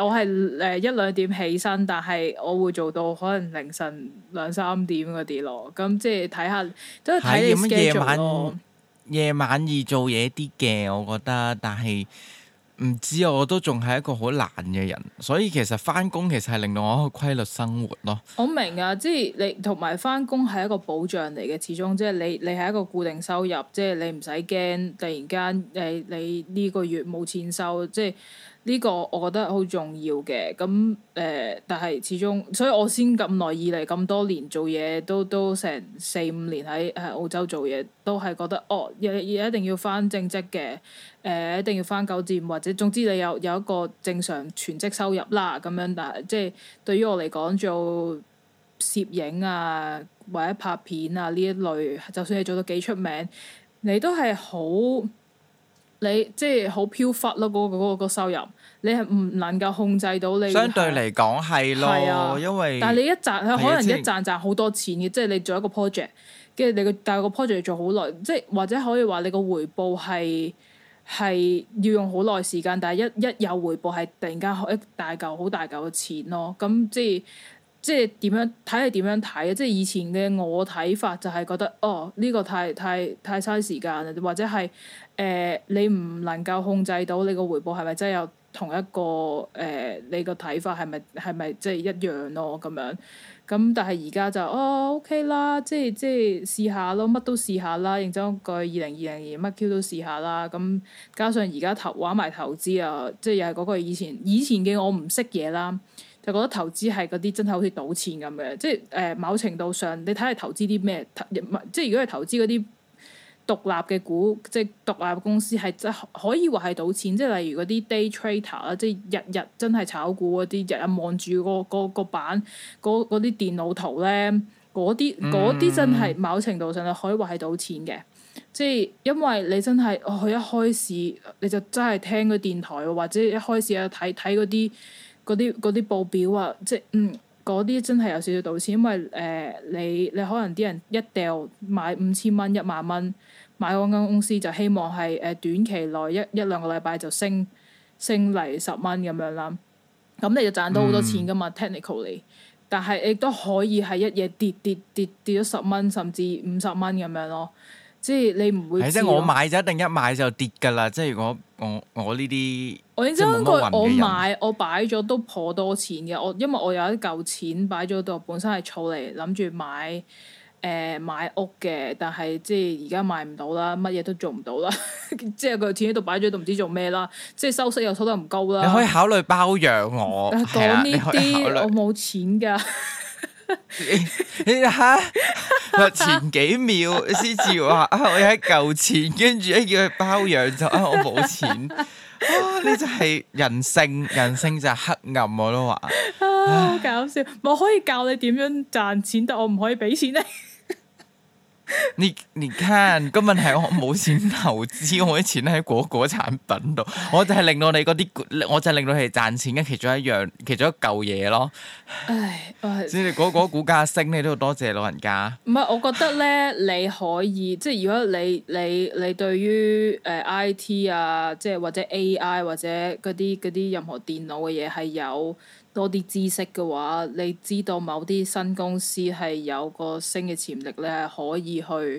1-2點起身，但係我會做到可能凌晨2-3點嗰啲咯。咁即係睇下都係睇你 schedule 咯。 夜晚易做嘢啲嘅，我覺得，但係唔知我都仲係一個好懶嘅人，所以其實返工其實係令到我一個規律生活咯。 我明啊，即係你同埋返工係一個保障嚟嘅，始終即係你係一個固定收入，即係你唔使驚突然間你呢個月冇錢收，即係。呢個我覺得好重要嘅，咁但係始終，所以我先咁耐以嚟咁多年做嘢，都成4-5年喺澳洲做嘢，都係覺得一定要返正職嘅，一定要返9至5，或者總之你有一個正常全職收入啦咁樣。但係即係對於我嚟講，做攝影啊或者拍片啊呢一類，就算你做到幾出名，你都係你即係好飄忽咯，嗰個收入，你係唔能夠控制到你。 相對嚟講係咯，因為但係你可能一賺好多錢嘅，即係你做一個 project， 跟住但係個 project 做好耐，即係或者可以話你個回報係要用好耐時間，但係一有回報係突然間一大嚿好大嚿嘅錢咯。咁即係點樣睇係點樣睇啊？即係以前嘅我睇法就係覺得呢個太嘥時間啦，或者係你唔能夠控制到你個回報係咪真係有同一個你個睇法係咪即係一樣咯咁樣。咁但係而家就OK 啦，即係試下咯，乜都試下啦。認真講句，2020年乜 Q 都試下啦。咁加上而家玩埋投資啊，即係又係嗰個以前嘅我唔識嘢啦。就覺得投資係嗰啲真係好似賭錢咁嘅，即係某程度上你睇下投資啲咩，即係如果係投資嗰啲獨立嘅股，即係獨立公司係真可以話係賭錢，即係例如嗰啲 day trader 啦，即係日日真係炒股嗰啲，日日望住個板嗰啲電腦圖咧，嗰啲真係某程度上你可以話係賭錢嘅，即係因為你真係佢一開市你就真係聽個電台，或者一開市啊睇嗰啲報表啊，即係嗰啲真係有少少賭錢，因為你可能啲人一掉買5000蚊、10000蚊買嗰間公司，就希望係短期內一兩個禮拜就升嚟10蚊咁樣啦，咁你就賺到好多錢噶嘛technically，但係亦都可以係一夜跌咗10蚊甚至50蚊咁樣咯。即係你唔會知。即係我買就一定一買就跌㗎啦。即係如果我呢啲， 我認真講句，我擺咗都頗多錢嘅。因為我有一嚿錢擺咗度，本身係儲嚟諗住買屋嘅，但係即係而家買唔到啦，乜嘢都做唔到啦。即係個錢喺度擺咗度，唔知做咩啦。即係收息又收得唔高啦。 你可以考慮包養我。 講呢啲我冇錢㗎。 你嚇前幾秒先至話我有一嚿錢，跟住一叫佢包養就我冇錢。呢就係人性就係黑暗，我都話。 好搞笑！我可以教你點樣賺錢，但我唔可以俾錢你。 你看，個問題我冇錢投資，我啲錢喺果產品度，我就係令到你嗰啲，我就係令到你哋賺錢嘅其中一嚿嘢咯。 唉， 即係嗰股價升，你都要多謝老人家。 唔係，我覺得咧，你可以即係如果你對於IT 啊，即係或者 AI 或者嗰啲任何電腦嘅嘢係有多啲知識嘅話，你知道某啲新公司係有個升嘅潛力咧，係可以去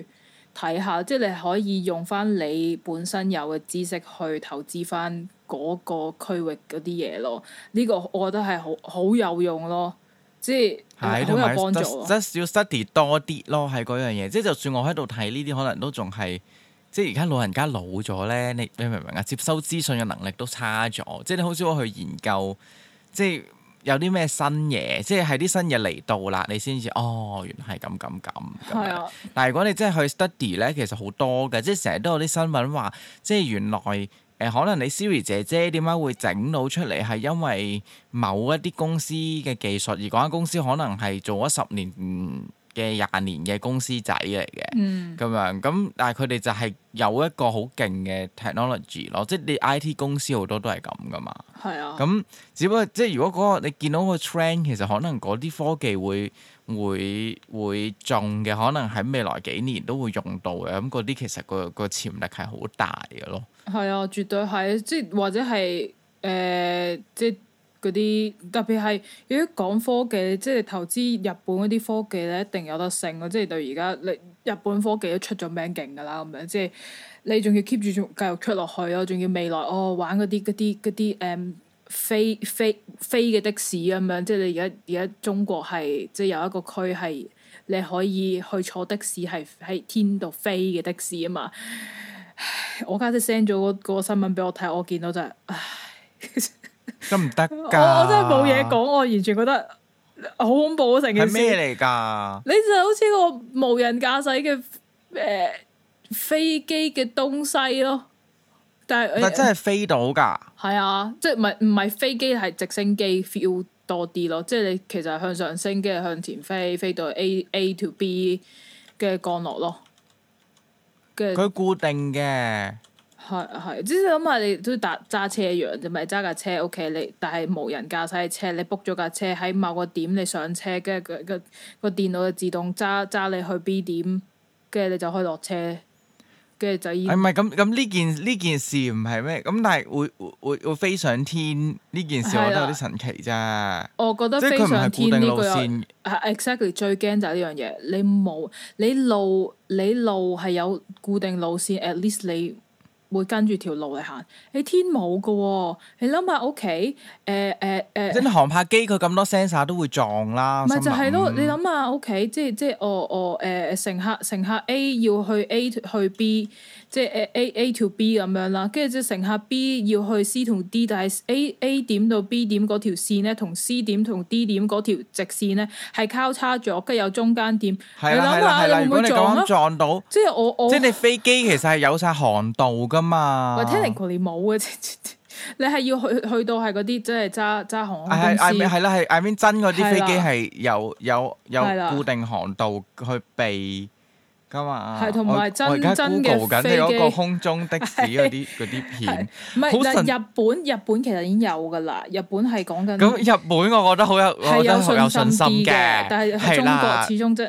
睇下，即係你可以用翻你本身有嘅知識去投資翻嗰個區域嗰啲嘢咯。呢個我覺得係好有用咯，即係好有幫助咯。 即係要 study 多啲咯，係嗰樣嘢。即係就算我喺度睇呢啲，可能都仲係即係而家老人家老咗咧，你明唔明啊？接收資訊嘅能力都差咗，即係你好少去研究，即係。有啲咩新嘢，即係啲新嘢嚟到啦，你先至哦，原來係咁。係啊。但係如果你真係去 study 咧，其實好多嘅，即係成日都有啲新聞話，即係原來可能你 Siri 姐姐點解會整到出嚟，係因為某一啲公司嘅技術，而嗰間公司可能係做咗10年嘅20年嘅公司仔嚟嘅，咁樣咁，但係佢哋就係有一個好勁嘅 technology 咯，即係你 IT 公司好多都係咁噶嘛。係啊。咁只不過即係如果嗰個你見到個 trend，其實可能嗰啲科技會中嘅，可能喺未來幾年都會用到嘅。咁嗰啲其實個潛力係好大嘅咯。係啊，絕對係，即係或者係即係。嗰啲特別係如果講科技，即係投資日本嗰啲科技咧，一定有得升咯！即係到而家，你日本科技都出咗名勁㗎啦，咁樣即係你仲要 keep 住仲繼續出落去咯，仲要未來玩嗰啲飛嘅的士咁樣，即係你而家中國係即係有一個區係你可以去坐的士係喺天度飛嘅的士啊嘛！我家姐 send 咗嗰個新聞俾我睇，我見到就係唉〜得唔得㗎？我真係冇嘢講，我完全覺得好恐怖啊！成件事係咩嚟㗎？你就好似個無人駕駛嘅飛機嘅東西咯，但真係飛到㗎？係啊，即係唔係飛機係直升機 feel 多啲咯，即係你其實係向上升，跟住向前飛到 A to B 嘅降落咯，佢固定嘅。係，即係諗下你都揸車一樣啫，咪揸架車 OK，你但係無人駕駛嘅車，你 book 咗架車喺某個點，你上車，跟住個電腦就自動揸你去 B 點，跟住你就可以落車，跟住就已經。唔係咁呢件事唔係咩？咁但係會飛上天呢件事，我覺得有啲神奇啫。我覺得飛上天呢個係 exactly 最驚就係呢樣嘢，你路係有固定路線，at least 你會跟住條路嚟行，你天冇㗎喎，你諗下屋企即係航拍機佢咁多 sensor 都會撞啦。咪就係咯，你諗下屋企，即係乘客 A 要去 A 去 B， 即係A to B 咁樣啦，跟住即係乘客 B 要去 C 同 D， 但係 A 點到 B 點嗰條線咧，同 C 點同 D 點嗰條直線咧係交叉咗，跟住有中間點。係啦係啦係啦，如果你咁樣撞到，即係即係你飛機其實係有晒航道㗎嘛。喂，technically冇嘅，你係要去到係嗰啲即係揸航空公司。係啦，係 I mean 真嗰啲飛機係有固定航道去避㗎嘛。係同埋真嘅飛機。你嗰個空中的士嗰啲片。唔係，但係日本其實已經有㗎啦。日本係講緊。咁日本我覺得好有信心嘅，但係中國始終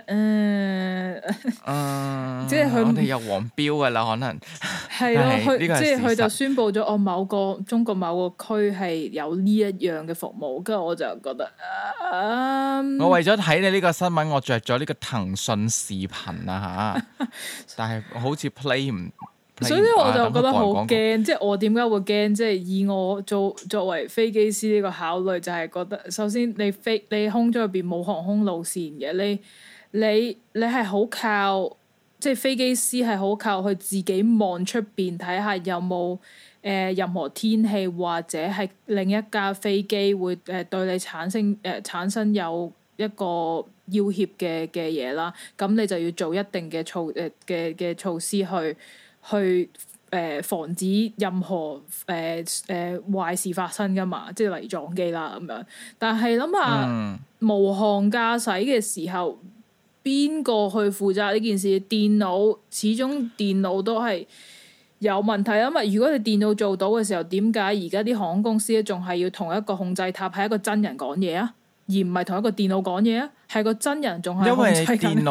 即係佢哋有黃標㗎啦，可能。係咯，即係佢就宣佈咗中國某個區係有呢一樣嘅服務，跟住我就覺得我為咗睇你呢個新聞，我着咗呢個騰訊視頻啊嚇，但係好似 play 唔，所以我就覺得好驚。即係我點解會驚？即係以我作為飛機師呢個考慮，就係覺得首先你空中入邊冇航空路線嘅，你係好靠。即係飛機師係好靠佢自己望出邊睇下有冇任何天氣或者係另一架飛機會對你產生有一個要挾嘅嘢啦。咁你就要做一定嘅措施去防止任何壞事發生㗎嘛。即係例如撞機啦咁樣。但係諗下無航駕駛嘅時候。邊個去負責呢件事？始終電腦都係有問題啊嘛！如果你電腦做到嘅時候，點解而家啲航空公司仲係要同一個控制塔係一個真人講嘢啊？而唔係同一個電腦講嘢啊？係個真人仲係控制緊。因為電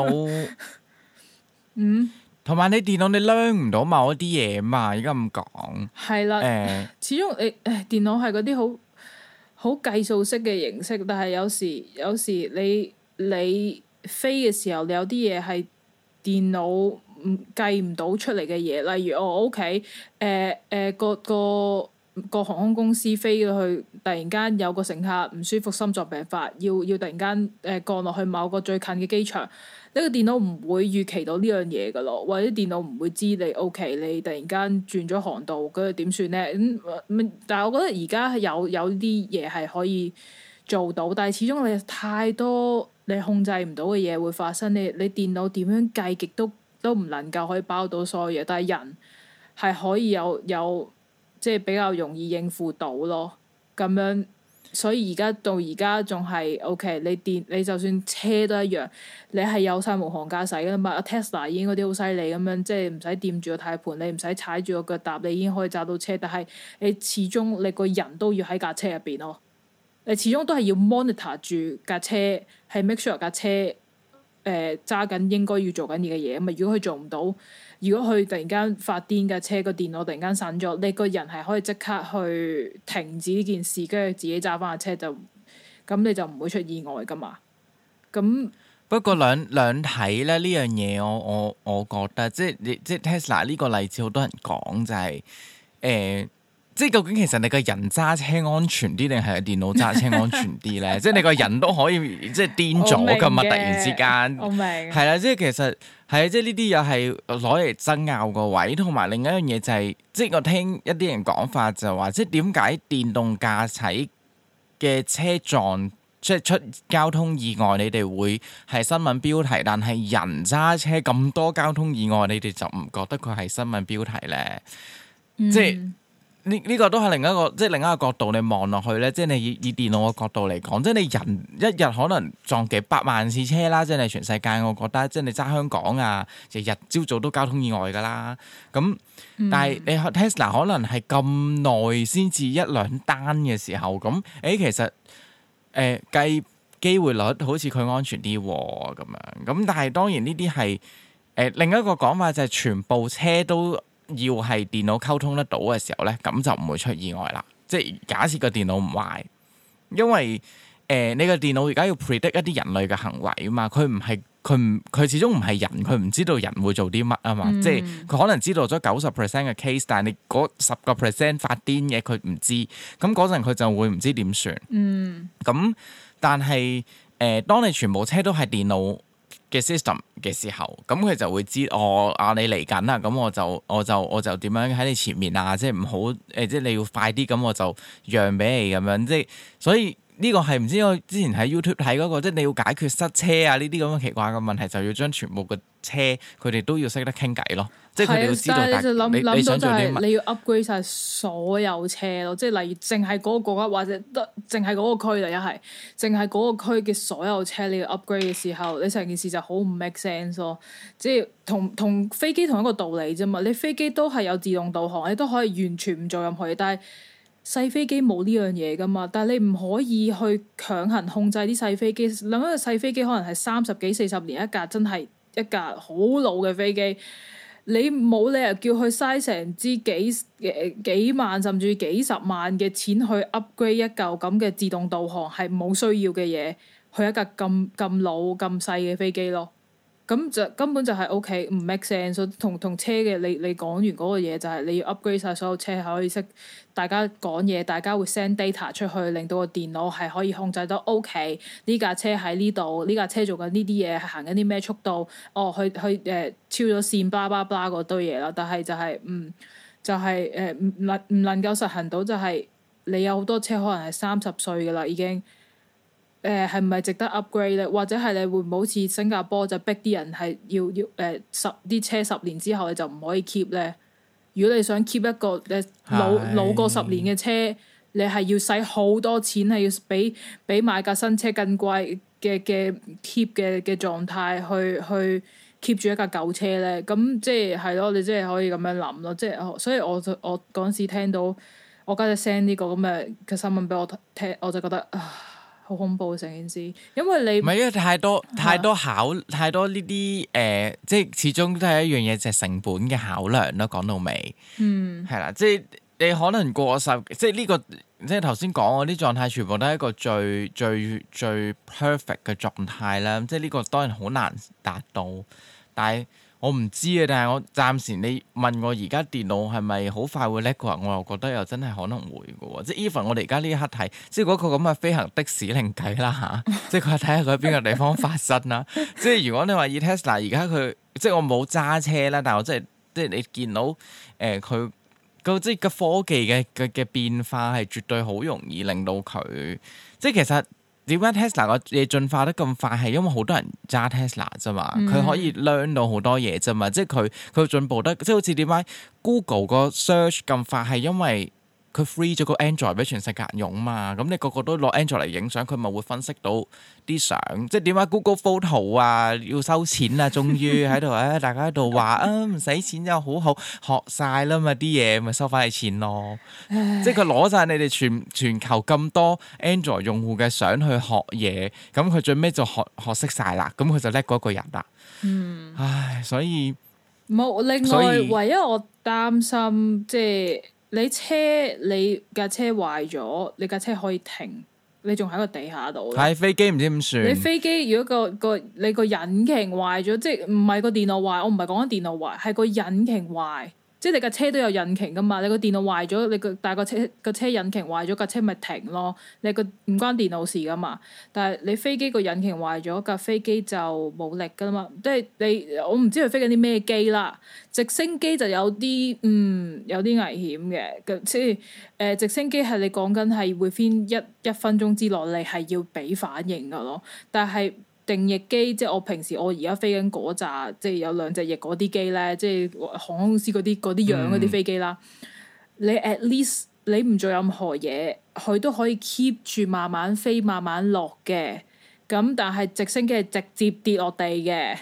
腦，同埋你電腦你 learn 唔到某一啲嘢嘛？而家咁講係啦，始終電腦係嗰啲好計數式嘅形式，但係有時你飛嘅時候，你有啲嘢係電腦計唔到出嚟嘅嘢，例如我屋企個航空公司飛咗去，突然間有個乘客唔舒服，心臟病發，要突然間降落去某個最近嘅機場，呢個電腦唔會預期到呢樣嘢噶咯，或者電腦唔會知你 OK，你突然間轉咗航道，跟住點算咧？但係我覺得而家有啲嘢係可以做到，但係始終你太多你控制唔到嘅嘢會發生，你電腦點樣計極都唔能夠可以包到所有嘢，但係人係可以有即係比較容易應付到咯，咁樣，所以到而家仲係 OK。你就算車都一樣，你係有晒無航駕駛㗎嘛。Tesla 已經嗰啲好犀利咁樣，即係唔使掂住個軚盤，你唔使踩住個腳踏，你已經可以揸到車。但係你始終你個人都要喺架車入邊咯，你始終都係要 monitor 住架車，係 make sure 架車揸緊應該要做緊嘅嘢。咁啊，如果佢做唔到，如果佢突然間發癲架車個電腦突然間散咗，你個人係可以即刻去停止呢件事，跟住自己揸翻架車咁你就唔會出意外噶嘛。咁不過兩睇咧呢樣嘢，我覺得即係 Tesla 呢個例子好多人講就係即係究竟其實你個人揸車安全啲定係電腦揸車安全啲咧？即係你個人都可以即係癲咗㗎嘛！突然之間， 我明係啦，即係其實係即係呢啲又係攞嚟爭拗個位，同埋另一樣嘢就係、是、即係我聽一啲人講法就話，即係點解電動駕駛嘅車撞即係出交通意外，你哋會係新聞標題，但係人揸車咁多交通意外，你哋就唔覺得佢係新聞標題咧？即係。呢個都係另一個角度，你望落去咧，即係你以電腦嘅角度嚟講，即係你人一日可能撞幾百萬次車啦，即係你全世界，我覺得即係你揸香港啊，日日朝早都交通意外㗎啦。咁但係你 Tesla 可能係咁耐先至一兩單嘅時候，咁其實計機會率好似佢安全啲喎咁樣。咁但係當然呢啲係另一個講法就係全部車都要係電腦溝通得到嘅時候咧，咁就唔會出意外啦。即係假設個電腦唔壞，因為你個電腦而家要 predict 一啲人類嘅行為啊嘛，佢始終唔係人，佢唔知道人會做啲乜啊嘛。即係佢可能知道咗90% 嘅 case， 但係你嗰10% 發癲嘅佢唔知，咁嗰陣佢就會唔知點算。咁但係當你全部車都係電腦嘅 system 嘅時候，咁佢就會知你嚟緊啦，咁我就點樣喺你前面啊，即係唔好即係你要快啲，咁我就讓俾你咁樣，即係所以呢個係唔知我之前喺 YouTube 睇嗰個，即係你要解決塞車啊呢啲咁嘅奇怪嘅問題，就要將全部嘅車佢哋都要識得傾偈咯。即係佢哋要知道，但係你想做啲乜？ 你要 upgrade 晒所有車咯，即係例如淨係嗰個國家或者得淨係嗰個區啦，一係淨係嗰個區嘅所有車你要 upgrade 嘅時候，你成件事就好唔 make sense 咯。即係同飛機同一個道理啫嘛。你飛機都係有自動導航，你都可以完全唔做任何嘢，但係細飛機冇呢樣嘢噶嘛。但係你唔可以去強行控制啲細飛機。諗一個細飛機可能係30幾40年一架，真係一架好老嘅飛機。你冇理由叫佢嘥成支幾萬甚至幾十萬嘅錢去 upgrade 一嚿咁嘅自動導航係冇需要嘅嘢，去一架咁老咁細嘅飛機咯。咁就根本就係 OK 唔 make sense。同車嘅你講完嗰個嘢就係你要 upgrade 晒所有車係可以識大家講嘢，大家會 send data 出去，令到個電腦係可以控制到 OK 呢架車喺呢度，呢架車做緊呢啲嘢係行緊啲咩速度，去超咗線，blah blah blah 嗰堆嘢啦。但係就係唔能夠實行到，就係你有好多車可能係30歲㗎啦已經。係唔係值得 upgrade 咧？或者係你會唔會好似新加坡就逼啲人係要啲車10年之後你就唔可以 keep 咧？如果你想 keep 一個老過10年嘅車，你係要使好多錢，係要比買架新車更貴嘅 keep 嘅狀態去 keep 住一架舊車咧。咁即係咯，你即係可以咁樣諗咯。即係所以我嗰陣時聽到我家姐 send 呢個咁嘅新聞俾我聽，我就覺得好恐怖成件事，因為你唔係因為太多呢啲即係始終都係一樣嘢，就係成本嘅考量咯。講到尾，係啦，即係你可能過10，即係呢個即係頭先講嗰啲狀態，全部都係一個最 perfect 嘅狀態啦。即係呢個當然好難達到，但係我唔知啊，但係我暫時你問我而家電腦係咪好快會叻嘅話，我又覺得又真係可能會嘅喎。即係 even 我哋而家呢一刻睇，即係嗰個咁嘅飛行的士另計啦嚇，即係佢睇下佢喺邊個地方發生啦。即係如果你話以 Tesla 而家佢，即係我冇揸車啦，但係我即係你見到佢即係個科技嘅變化係絕對好容易令到佢，即係其實。點解 Tesla 個嘢進化得咁快？係因為好多人揸 Tesla 啫嘛，佢可以 learn 到好多嘢啫嘛，即係佢進步得，即係好似點解 Google 個 search 咁快，係因為佢 free 咗個 Android 俾全世界人用嘛，咁你個個都攞 Android 嚟影相，佢咪會分析到啲相，即係點解 Google Photo 啊要收錢啊，終於喺度大家喺度話啊唔使錢就好好學晒啦嘛，啲嘢咪收翻你錢咯，即係佢攞晒你哋全球咁多 Android 用戶嘅相去學嘢，咁佢最尾就學識晒啦，咁佢就叻過一個人啦。唉，所以冇另外唯一我擔心即係。你架車壞咗，你架車可以停，你仲喺個地下度。 係飛機唔知點算？你飛機如果你個引擎壞咗，即係唔係個電腦壞？我唔係講緊電腦壞，係個引擎壞。即係你架車都有引擎噶嘛？你個電腦壞咗，但係個車引擎壞咗，架車咪停咯。你個唔關電腦事噶嘛？但係你飛機個引擎壞咗，架飛機就冇力噶嘛。即係我唔知佢飛緊啲咩機啦。直升機就有啲有啲危險嘅。即係直升機係你講緊係會飛一分鐘之內，你係要俾反應噶咯。但係定翼機即係我而家飛緊嗰扎，即係有兩隻翼嗰啲機咧，即係航空公司嗰啲樣嗰啲飛機啦。你 at least 你唔做任何嘢，佢都可以 keep 住慢慢飛、慢慢落嘅。咁但係直升機係直接跌落地嘅。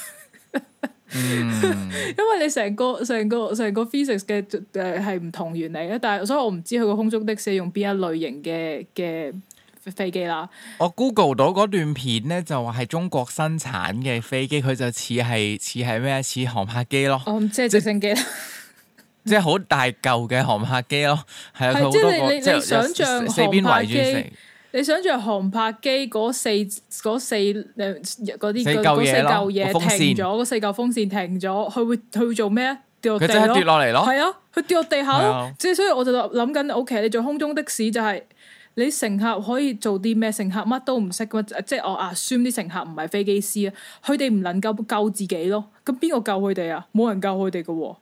因為你成個 physics 嘅係唔同原理嘅，但係所以我唔知佢個空中的士用邊一類型嘅飛機啦。 我 Google 到嗰段片咧，就話係中國生產嘅飛機，佢就似係咩？似航拍機咯。 即係直升機啦。 即係好大嚿嘅航拍機咯，係啊，佢好多個，即係想象四邊圍住成。 你想象航拍機嗰四嗰四嚿嘢停咗，嗰四嚿風扇停咗，佢會做咩啊？跌落地咯。佢真係跌落嚟咯。係啊，佢跌落地下咯。即係所以我就諗緊，OK，你做空中的士就係你乘客可以做啲咩？乘客乜都唔識噶嘛，即係我assume啲乘客唔係飛機師啊，佢哋唔能夠救自己咯。咁邊個救佢哋啊？冇人救佢哋噶喎。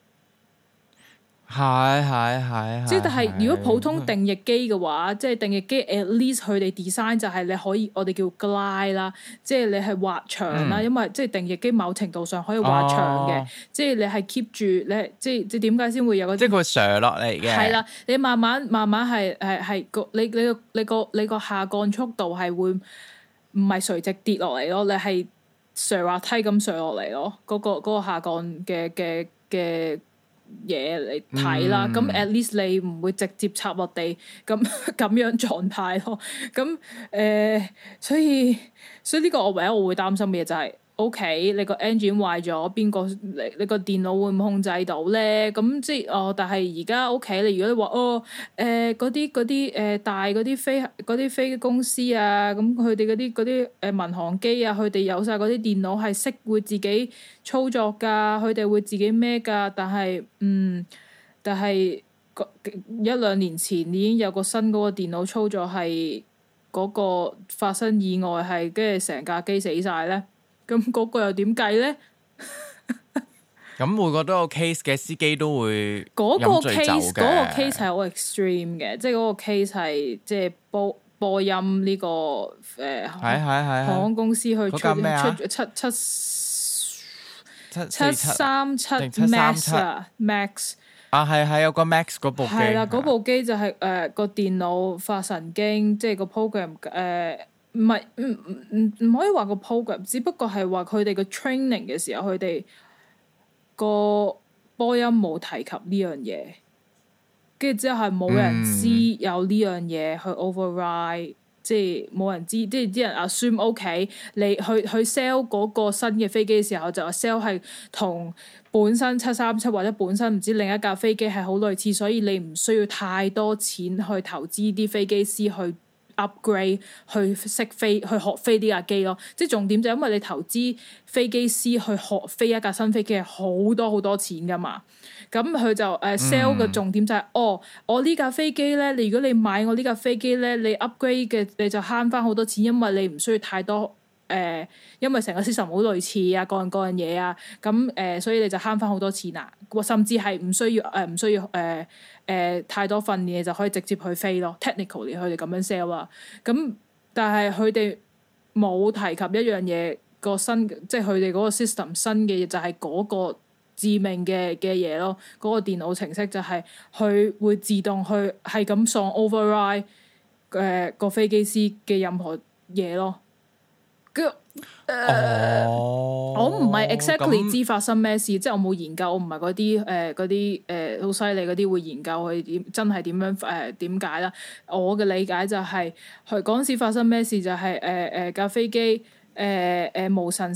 係， 即係但係如果普通定翼機嘅話，即係定翼機 at least 佢哋 design 就係你可以我哋叫 glide 啦，即係你係滑翔啦，因為即係定翼機某程度上可以滑翔嘅，即係你係 keep 住你即係點解先會有個即係佢上落嚟嘅。 係啦，你慢慢係個你個下降速度係會唔係垂直跌落嚟咯？你係上滑梯咁上落嚟咯，嗰個下降嘅嘢嚟睇啦，咁 at least 你唔會直接插落地咁樣狀態咯。咁所以呢個我唯一我會擔心嘅嘢就係 OK， 你個 engine 壞咗，邊個你個電腦會唔控制到咧？咁即係但係而家 OK，你如果你話嗰啲大嗰啲飛機公司啊，咁佢哋嗰啲民航機啊，佢哋有晒嗰啲電腦係識會自己操作㗎，佢哋會自己孭㗎。但係一兩年前已經有個新嗰個電腦操作係嗰個發生意外係跟住成架機死晒咧。咁嗰個又點計咧？ 咁每個都有 case 嘅司機都會嗰個 case 係好 extreme 嘅，即係嗰個 case 係即係波音呢個航空公司去出737 Max 啊，係有個 Max 嗰部機係啦，嗰部機就係個電腦發神經，即係個 program 唔可以話個 program， 只不過係話佢哋個 training 嘅時候，佢哋個波音冇提及呢樣嘢，跟住之後係冇人知有呢樣嘢去 override，即係冇人知，即係啲人 assume OK， 你去 sell 嗰個新嘅飛機嘅時候就話 sell 係同本身737或者本身唔知另一架飛機係好類似，所以你唔需要太多錢去投資啲飛機師去 upgrade 去識飛去學飛呢架機咯。即係重點就係因為你投資飛機師去學飛一架新飛機係好多好多錢噶嘛。咁佢就sell 嘅重點就係、我呢架飛機咧，如果你買我呢架飛機咧，你 upgrade 嘅你就慳翻好多錢，因為你唔需要太多因為成個 system 好類似啊，各樣嘢啊，咁所以你就慳翻好多錢啊，甚至係唔需要太多訓練，你就可以直接去飛咯。Technically 佢哋咁樣 sell 啊，咁但係佢哋冇提及一樣嘢，個新即係佢哋嗰個 system 新嘅嘢就係嗰個致命嘅嘢咯。嗰個電腦程式就係佢會自動去係咁喪 override 個飛機師嘅任何嘢咯。我唔係 exactly 知發生咩事，即係我冇研究，我唔係嗰啲好犀利嗰啲會研究佢真係點樣點解啦。我嘅理解就係佢嗰陣時發生咩事就係架飛機無神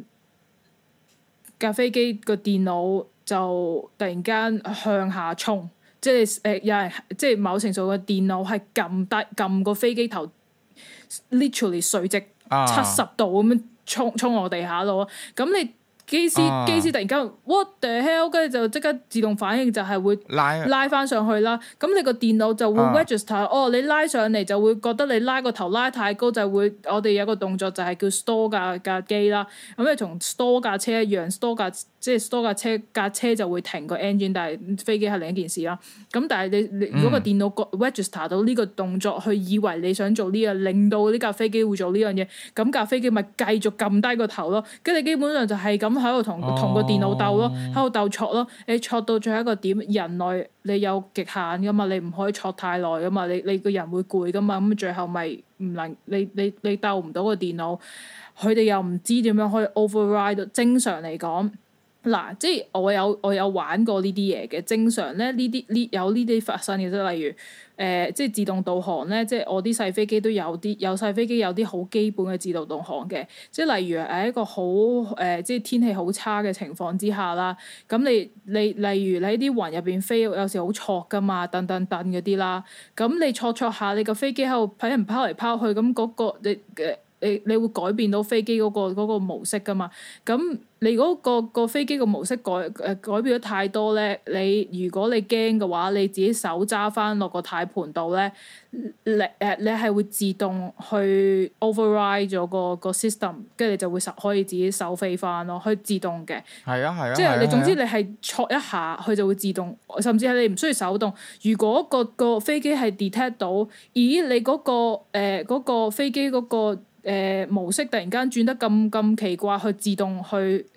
架飛機個電腦就突然間向下衝，即係有人即係某程度嘅電腦係撳個飛機頭 literally 垂直70度咁樣衝落地下度，咁你機師突然間 what the hell， 跟住就即刻自動反應就係會拉翻上去啦。咁你個電腦就會 register，你拉上嚟就會覺得你拉個頭拉太高，就會我哋有個動作就係叫 store 架機啦。咁你同 store 架車一樣，store 架車就會停個 engine， 但係飛機係另一件事啦。咁但係你如果個電腦 register 到呢個動作，去以為你想做呢樣，令到呢架飛機會做呢樣嘢，咁架飛機咪繼續撳低個頭咯。跟住基本上就係咁喺度同個電腦鬥咯，喺度鬥挫咯。你挫到最後一個點，人類你有極限噶嘛，你唔可以挫太耐噶嘛，你個人會攰噶嘛。咁最後咪唔能你鬥唔到個電腦，佢哋又唔知點樣可以 override。正常嚟講，嗱，即係我有玩過呢啲嘢嘅。正常咧，有呢啲發生嘅，即係例如即係自動導航咧，即係我啲細飛機都有細飛機有啲好基本嘅自動導航嘅。即係例如一個好即係天氣好差嘅情況之下啦，咁你例如你喺啲雲入邊飛，有時好挫噶嘛，蹬嗰啲啦，咁你挫下，你個飛機喺度俾人拋嚟拋去，咁嗰個你會改變到飛機嗰個模式噶嘛？咁你嗰個飛機個模式改變咗太多咧，如果你驚嘅話，你自己手揸翻落個軚盤度咧，你係會自動去 override 咗個 system， 跟住你就會可以自己手飛翻咯，可以自動嘅。係啊。即係你總之你係挫一下，佢就會自動，甚至係你唔需要手動。如果個飛機係 detect 到，咦你嗰個飛機嗰個模式突然間轉得咁奇怪，去自動去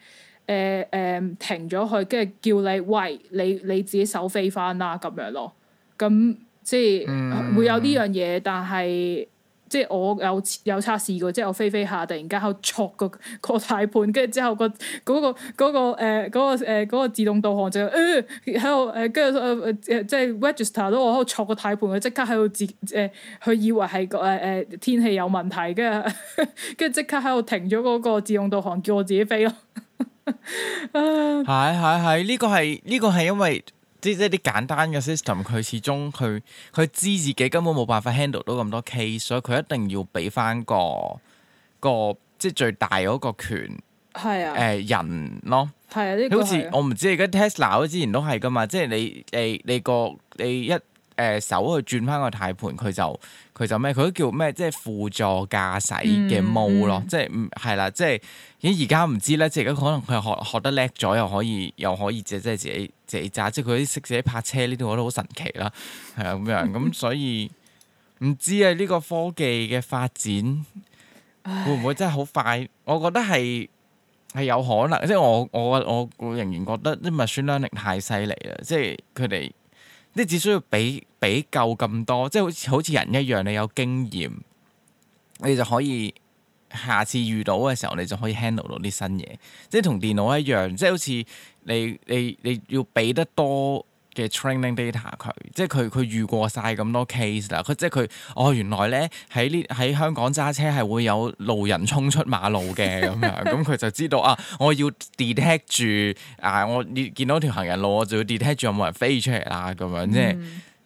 停咗佢，跟住叫你喂你自己手飛翻啦咁樣咯。咁即係會有呢樣嘢，但係即係我有測試過，即係我飛下突然間喺度挫個軚盤，跟住之後嗰個自動導航就喺度跟住即係 register 到我喺度挫個軚盤，佢即刻喺度佢以為係天氣有問題，跟住即刻喺度停咗嗰個自動導航，叫我自己飛咯。 係呢個係因為即係啲簡單嘅 system， 佢始終佢知自己根本冇辦法 handle 到咁多 case， 所以佢一定要俾翻個即係最大嗰個權人咯。係啊，呢個好似我唔知而家 Tesla 之前都係噶嘛，即係你一手去轉翻個軚盤，佢就咩？佢都叫咩？即係輔助駕駛嘅 mode 咯，即係係啦，即係而家唔知咧，即係而家可能佢學得叻咗，又可以即係自己揸，即係佢啲識自己泊車呢啲，我覺得好神奇啦，係啊咁樣咁，所以唔知啊呢個科技嘅發展會唔會真係好快？我覺得係有可能，即係我仍然覺得啲 machine learning 太犀利啦，即係佢哋。即只需要俾夠咁多，即係好似人一樣，你有經驗，你就可以下次遇到嘅時候，你就可以 handle 到啲新嘢。即係同電腦一樣，即係好似你要俾得多嘅 training data 佢，即係佢遇過晒咁多 case 啦。即係佢原來咧喺香港揸車係會有路人衝出馬路嘅咁樣，咁佢就知道我要 detect 住我見到條行人路，我就要 detect 住有冇人飛出嚟啦咁樣，即係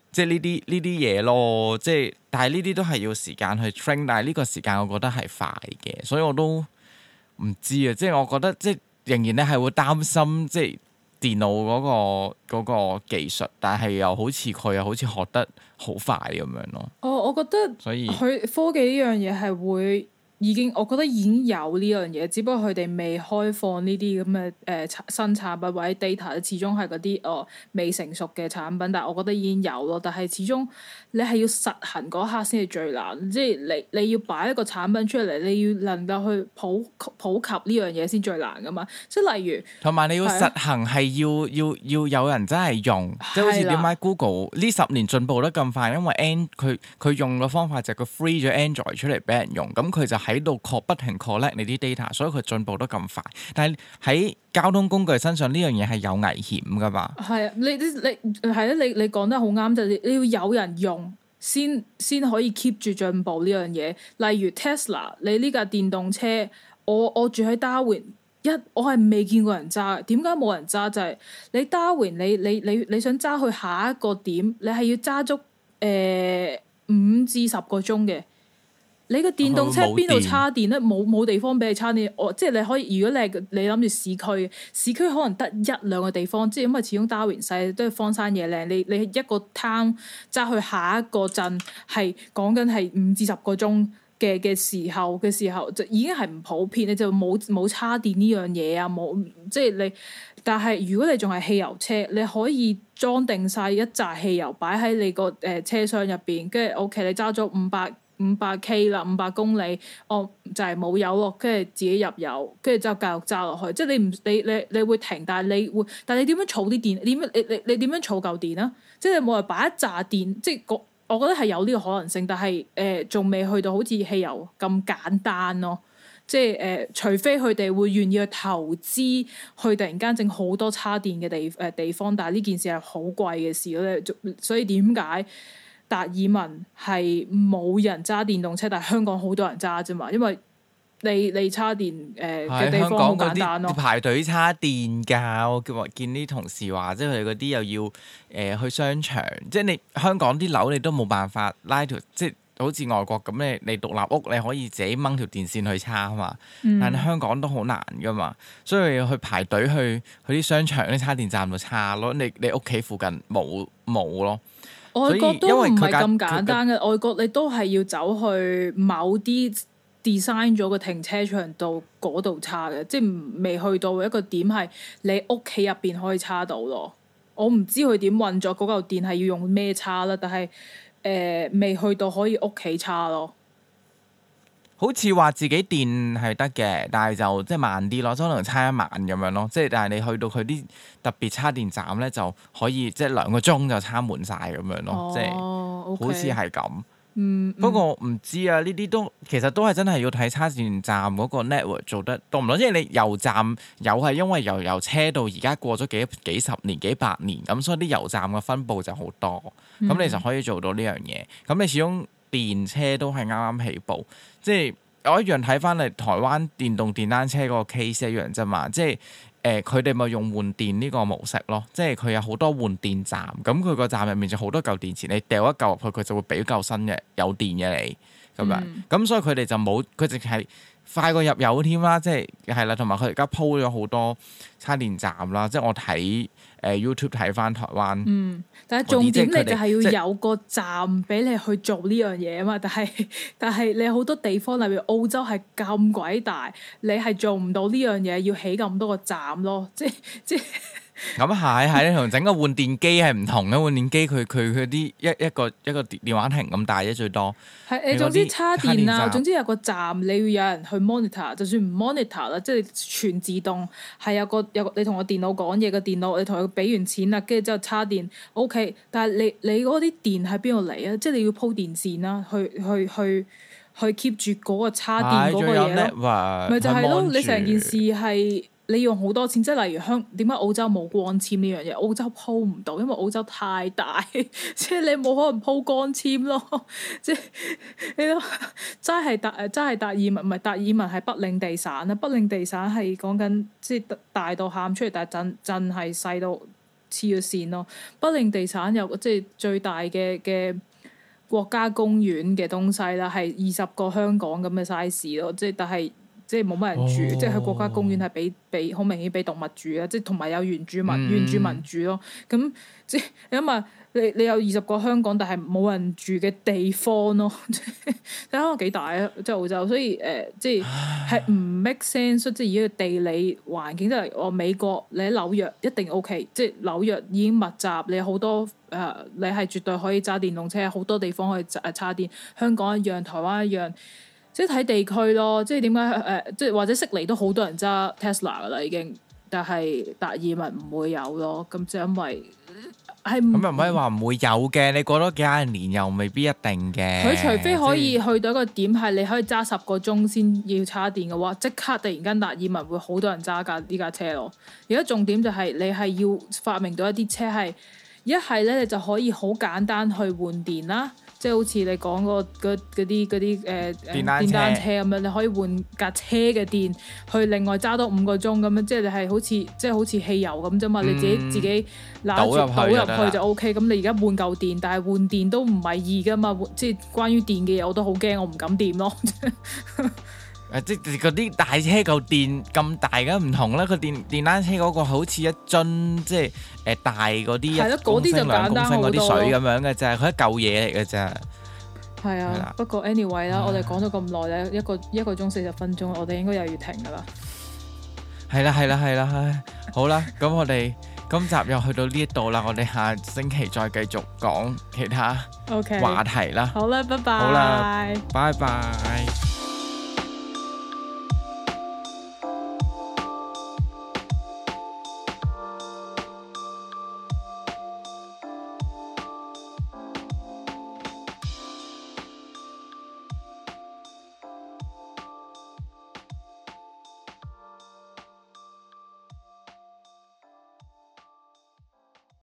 即係呢啲嘢咯，即係但係呢啲都係要時間去 train， 但係呢個時間我覺得係快嘅，所以我都唔知啊，即係我覺得即係仍然咧係會擔心即係電腦嗰個技術，但係又好似佢又好似學得好快咁樣咯。 我覺得所以佢科技呢樣嘢係會。我覺得已經有呢樣嘢，只不過佢哋未開放呢啲咁嘅新產品或者 data，始終係嗰啲未成熟嘅產品。但係我覺得已經有咯。但係始終你係要實行嗰刻先係最難，即係你要擺一個產品出嚟，你要能夠去普及呢樣嘢先最難噶嘛。即係例如，同埋你要實行係要有人真係用，即係好似點解 Google 呢10年進步得咁快，因為佢用嘅方法就係佢 free 咗 Android 出嚟俾人用，咁佢就喺度不停 collect 你啲 data， 所以佢進步得咁快。但係喺交通工具身上呢樣嘢係有危險噶嘛？係啊，你係啊，你講得好啱，就係你要有人用先可以 keep 住進步呢樣嘢。例如 Tesla， 你呢架電動車，我住喺 Darwin， 我係未見過人揸。點解冇人揸？就係你 Darwin， 你想揸去下一個點，你係要揸足5至10個鐘嘅。你個電動車邊度叉電咧？冇地方俾你叉電。即係你可以，如果你諗住市區可能得1-2個地方，即係因為始終 Darwin 細，都係荒山野嶺。你一個 town 揸去下一個鎮，係講緊係5至10個鐘嘅時候，就已經係唔普遍。你就冇叉電呢樣嘢啊，冇即係你。但係如果你仲係汽油車，你可以裝定晒一紮汽油擺喺你個車廂入邊，跟住 OK，你揸咗500K 啦，500公里，就係冇油咯，跟住自己入油，跟住之後繼續揸落去。即係你會停，但係你點樣儲啲電？你點樣儲夠電啊？即係你冇人擺一紮電，即係我覺得係有呢個可能性，但係仲未去到好似汽油咁簡單咯。即係除非佢哋會願意去投資，去突然間整好多叉電嘅地方，但係呢件事係好貴嘅事咧。所以點解達爾文係冇人揸電動車，但係香港好多人揸啫嘛？因為你叉電嘅地方好簡單咯。排隊叉電㗎，我見啲同事話，即係佢哋嗰啲又要去商場，即係你香港啲樓你都冇辦法拉條，即係好似外國咁，你獨立屋你可以自己掹條電線去叉啊嘛。但係香港都好難㗎嘛，所以要去排隊去啲商場啲叉電站度叉咯。你屋企附近冇咯。外國都唔係咁簡單嘅，外國你都係要走去某啲 design 咗個停車場度嗰度叉嘅，即係未去到一個點係你屋企入邊可以叉到咯。我唔知佢點運作嗰嚿電係要用咩叉啦，但係未去到可以屋企叉咯。好似話自己電係得嘅，但係就即係慢啲咯，可能叉1晚咁樣咯。即係但係你去到佢啲特別叉電站咧，就可以即係2個鐘就叉滿晒咁樣咯。即係好似係咁。不過唔知啊，呢啲都其實都係真係要睇叉電站嗰個 network 做得多唔多。即係你油站有係因為由車到而家過咗幾十年幾百年咁，所以啲油站嘅分佈就好多。咁你就可以做到呢樣嘢。咁你始終電車都係啱啱起步。即係我一樣睇翻嚟台灣電動電單車嗰個 case 一樣啫嘛，即係佢哋咪用換電呢個模式咯，即係佢有好多換電站，咁佢個站入面就好多嚿電池，你掉一嚿入去，佢就會俾嚿新嘅有電嘅你咁樣，咁所以佢哋就冇，佢淨係快過入油添啦，即係啦，同埋佢而家鋪咗好多叉電站啦，即係我睇YouTube 睇翻台灣。但係重點你就係要有個站俾你去做呢樣嘢啊嘛，但係你好多地方例如澳洲係咁鬼大，你係做唔到呢樣嘢，要起咁多個站咯，即係。咁係你同整個換電機係唔同嘅，換電機佢啲一個電話亭咁大啫，最多。係你總之叉電啊，總之有個站你要有人去 monitor， 就算唔 monitor 啦，即係全自動係有個你同個電腦講嘢，個電腦你同佢俾完錢啦，跟住之後叉電 OK， 但係你嗰啲電喺邊度嚟啊？即係你要鋪電線啦，去 keep 住嗰個叉電嗰個嘢咯。咪就係咯，你成件事係。你用好多錢，即係例如點解澳洲冇光纖呢樣嘢？澳洲鋪唔到，因為澳洲太大，即係你冇可能鋪光纖咯。即係你都真係達爾文，唔係達爾文係北領地省啦。北領地省係講緊即係大到喊出嚟，但係鎮係細到黐咗線咯。北領地產有即係最大嘅國家公園嘅東西啦，係20個香港咁嘅 size 咯，即係但係即係冇乜人住，即係佢國家公園係俾好明顯俾動物住啦，即係同埋有原住民住咯，咁即係你諗下。你有20個香港，但係冇人住嘅地方咯，睇下幾大啊！即係澳洲，所以即係唔 make sense。即係而家嘅地理環境，即係我美國，你喺紐約一定 OK。即係紐約已經密集，你好多你係絕對可以揸電動車，好多地方可以插電。香港一樣，台灣一樣，即係睇地區咯。即係點解即係或者悉尼都好多人揸 Tesla 噶啦已經，但係達爾文唔會有咯。咁就因為咁又唔可以話唔會有嘅，你過多幾廿年又未必一定嘅。 佢除非可以去到一個點係你可以揸10個鐘先要叉電嘅話，即刻突然間達爾文會好多人揸呢架車咯。而家重點就係你係要發明到一啲車係一係咧，你就可以好簡單去換電啦。即係好似你講嗰啲電單車咁樣，你可以換架車嘅電去另外揸多5個鐘咁樣，即係你係好似汽油咁啫嘛，你自己倒入去就 OK。咁你而家換嚿電，但係換電都唔係易噶嘛，即係關於電嘅嘢我都好驚，我唔敢掂咯。 即係嗰啲大車嚿電咁大嘅唔同啦，佢電單車嗰個好似一樽即係大嗰啲1公升2公升嗰啲水咁樣嘅啫，佢一嚿嘢嚟嘅啫。 係啊，不過 anyway 啦，我哋講咗咁耐咧，一個鐘40分鐘，我哋應該又要停噶啦。係啦，好啦，咁我哋今集又去到呢一度啦，我哋下星期再繼續講其他話題啦。 好啦，拜拜。 好啦，拜拜。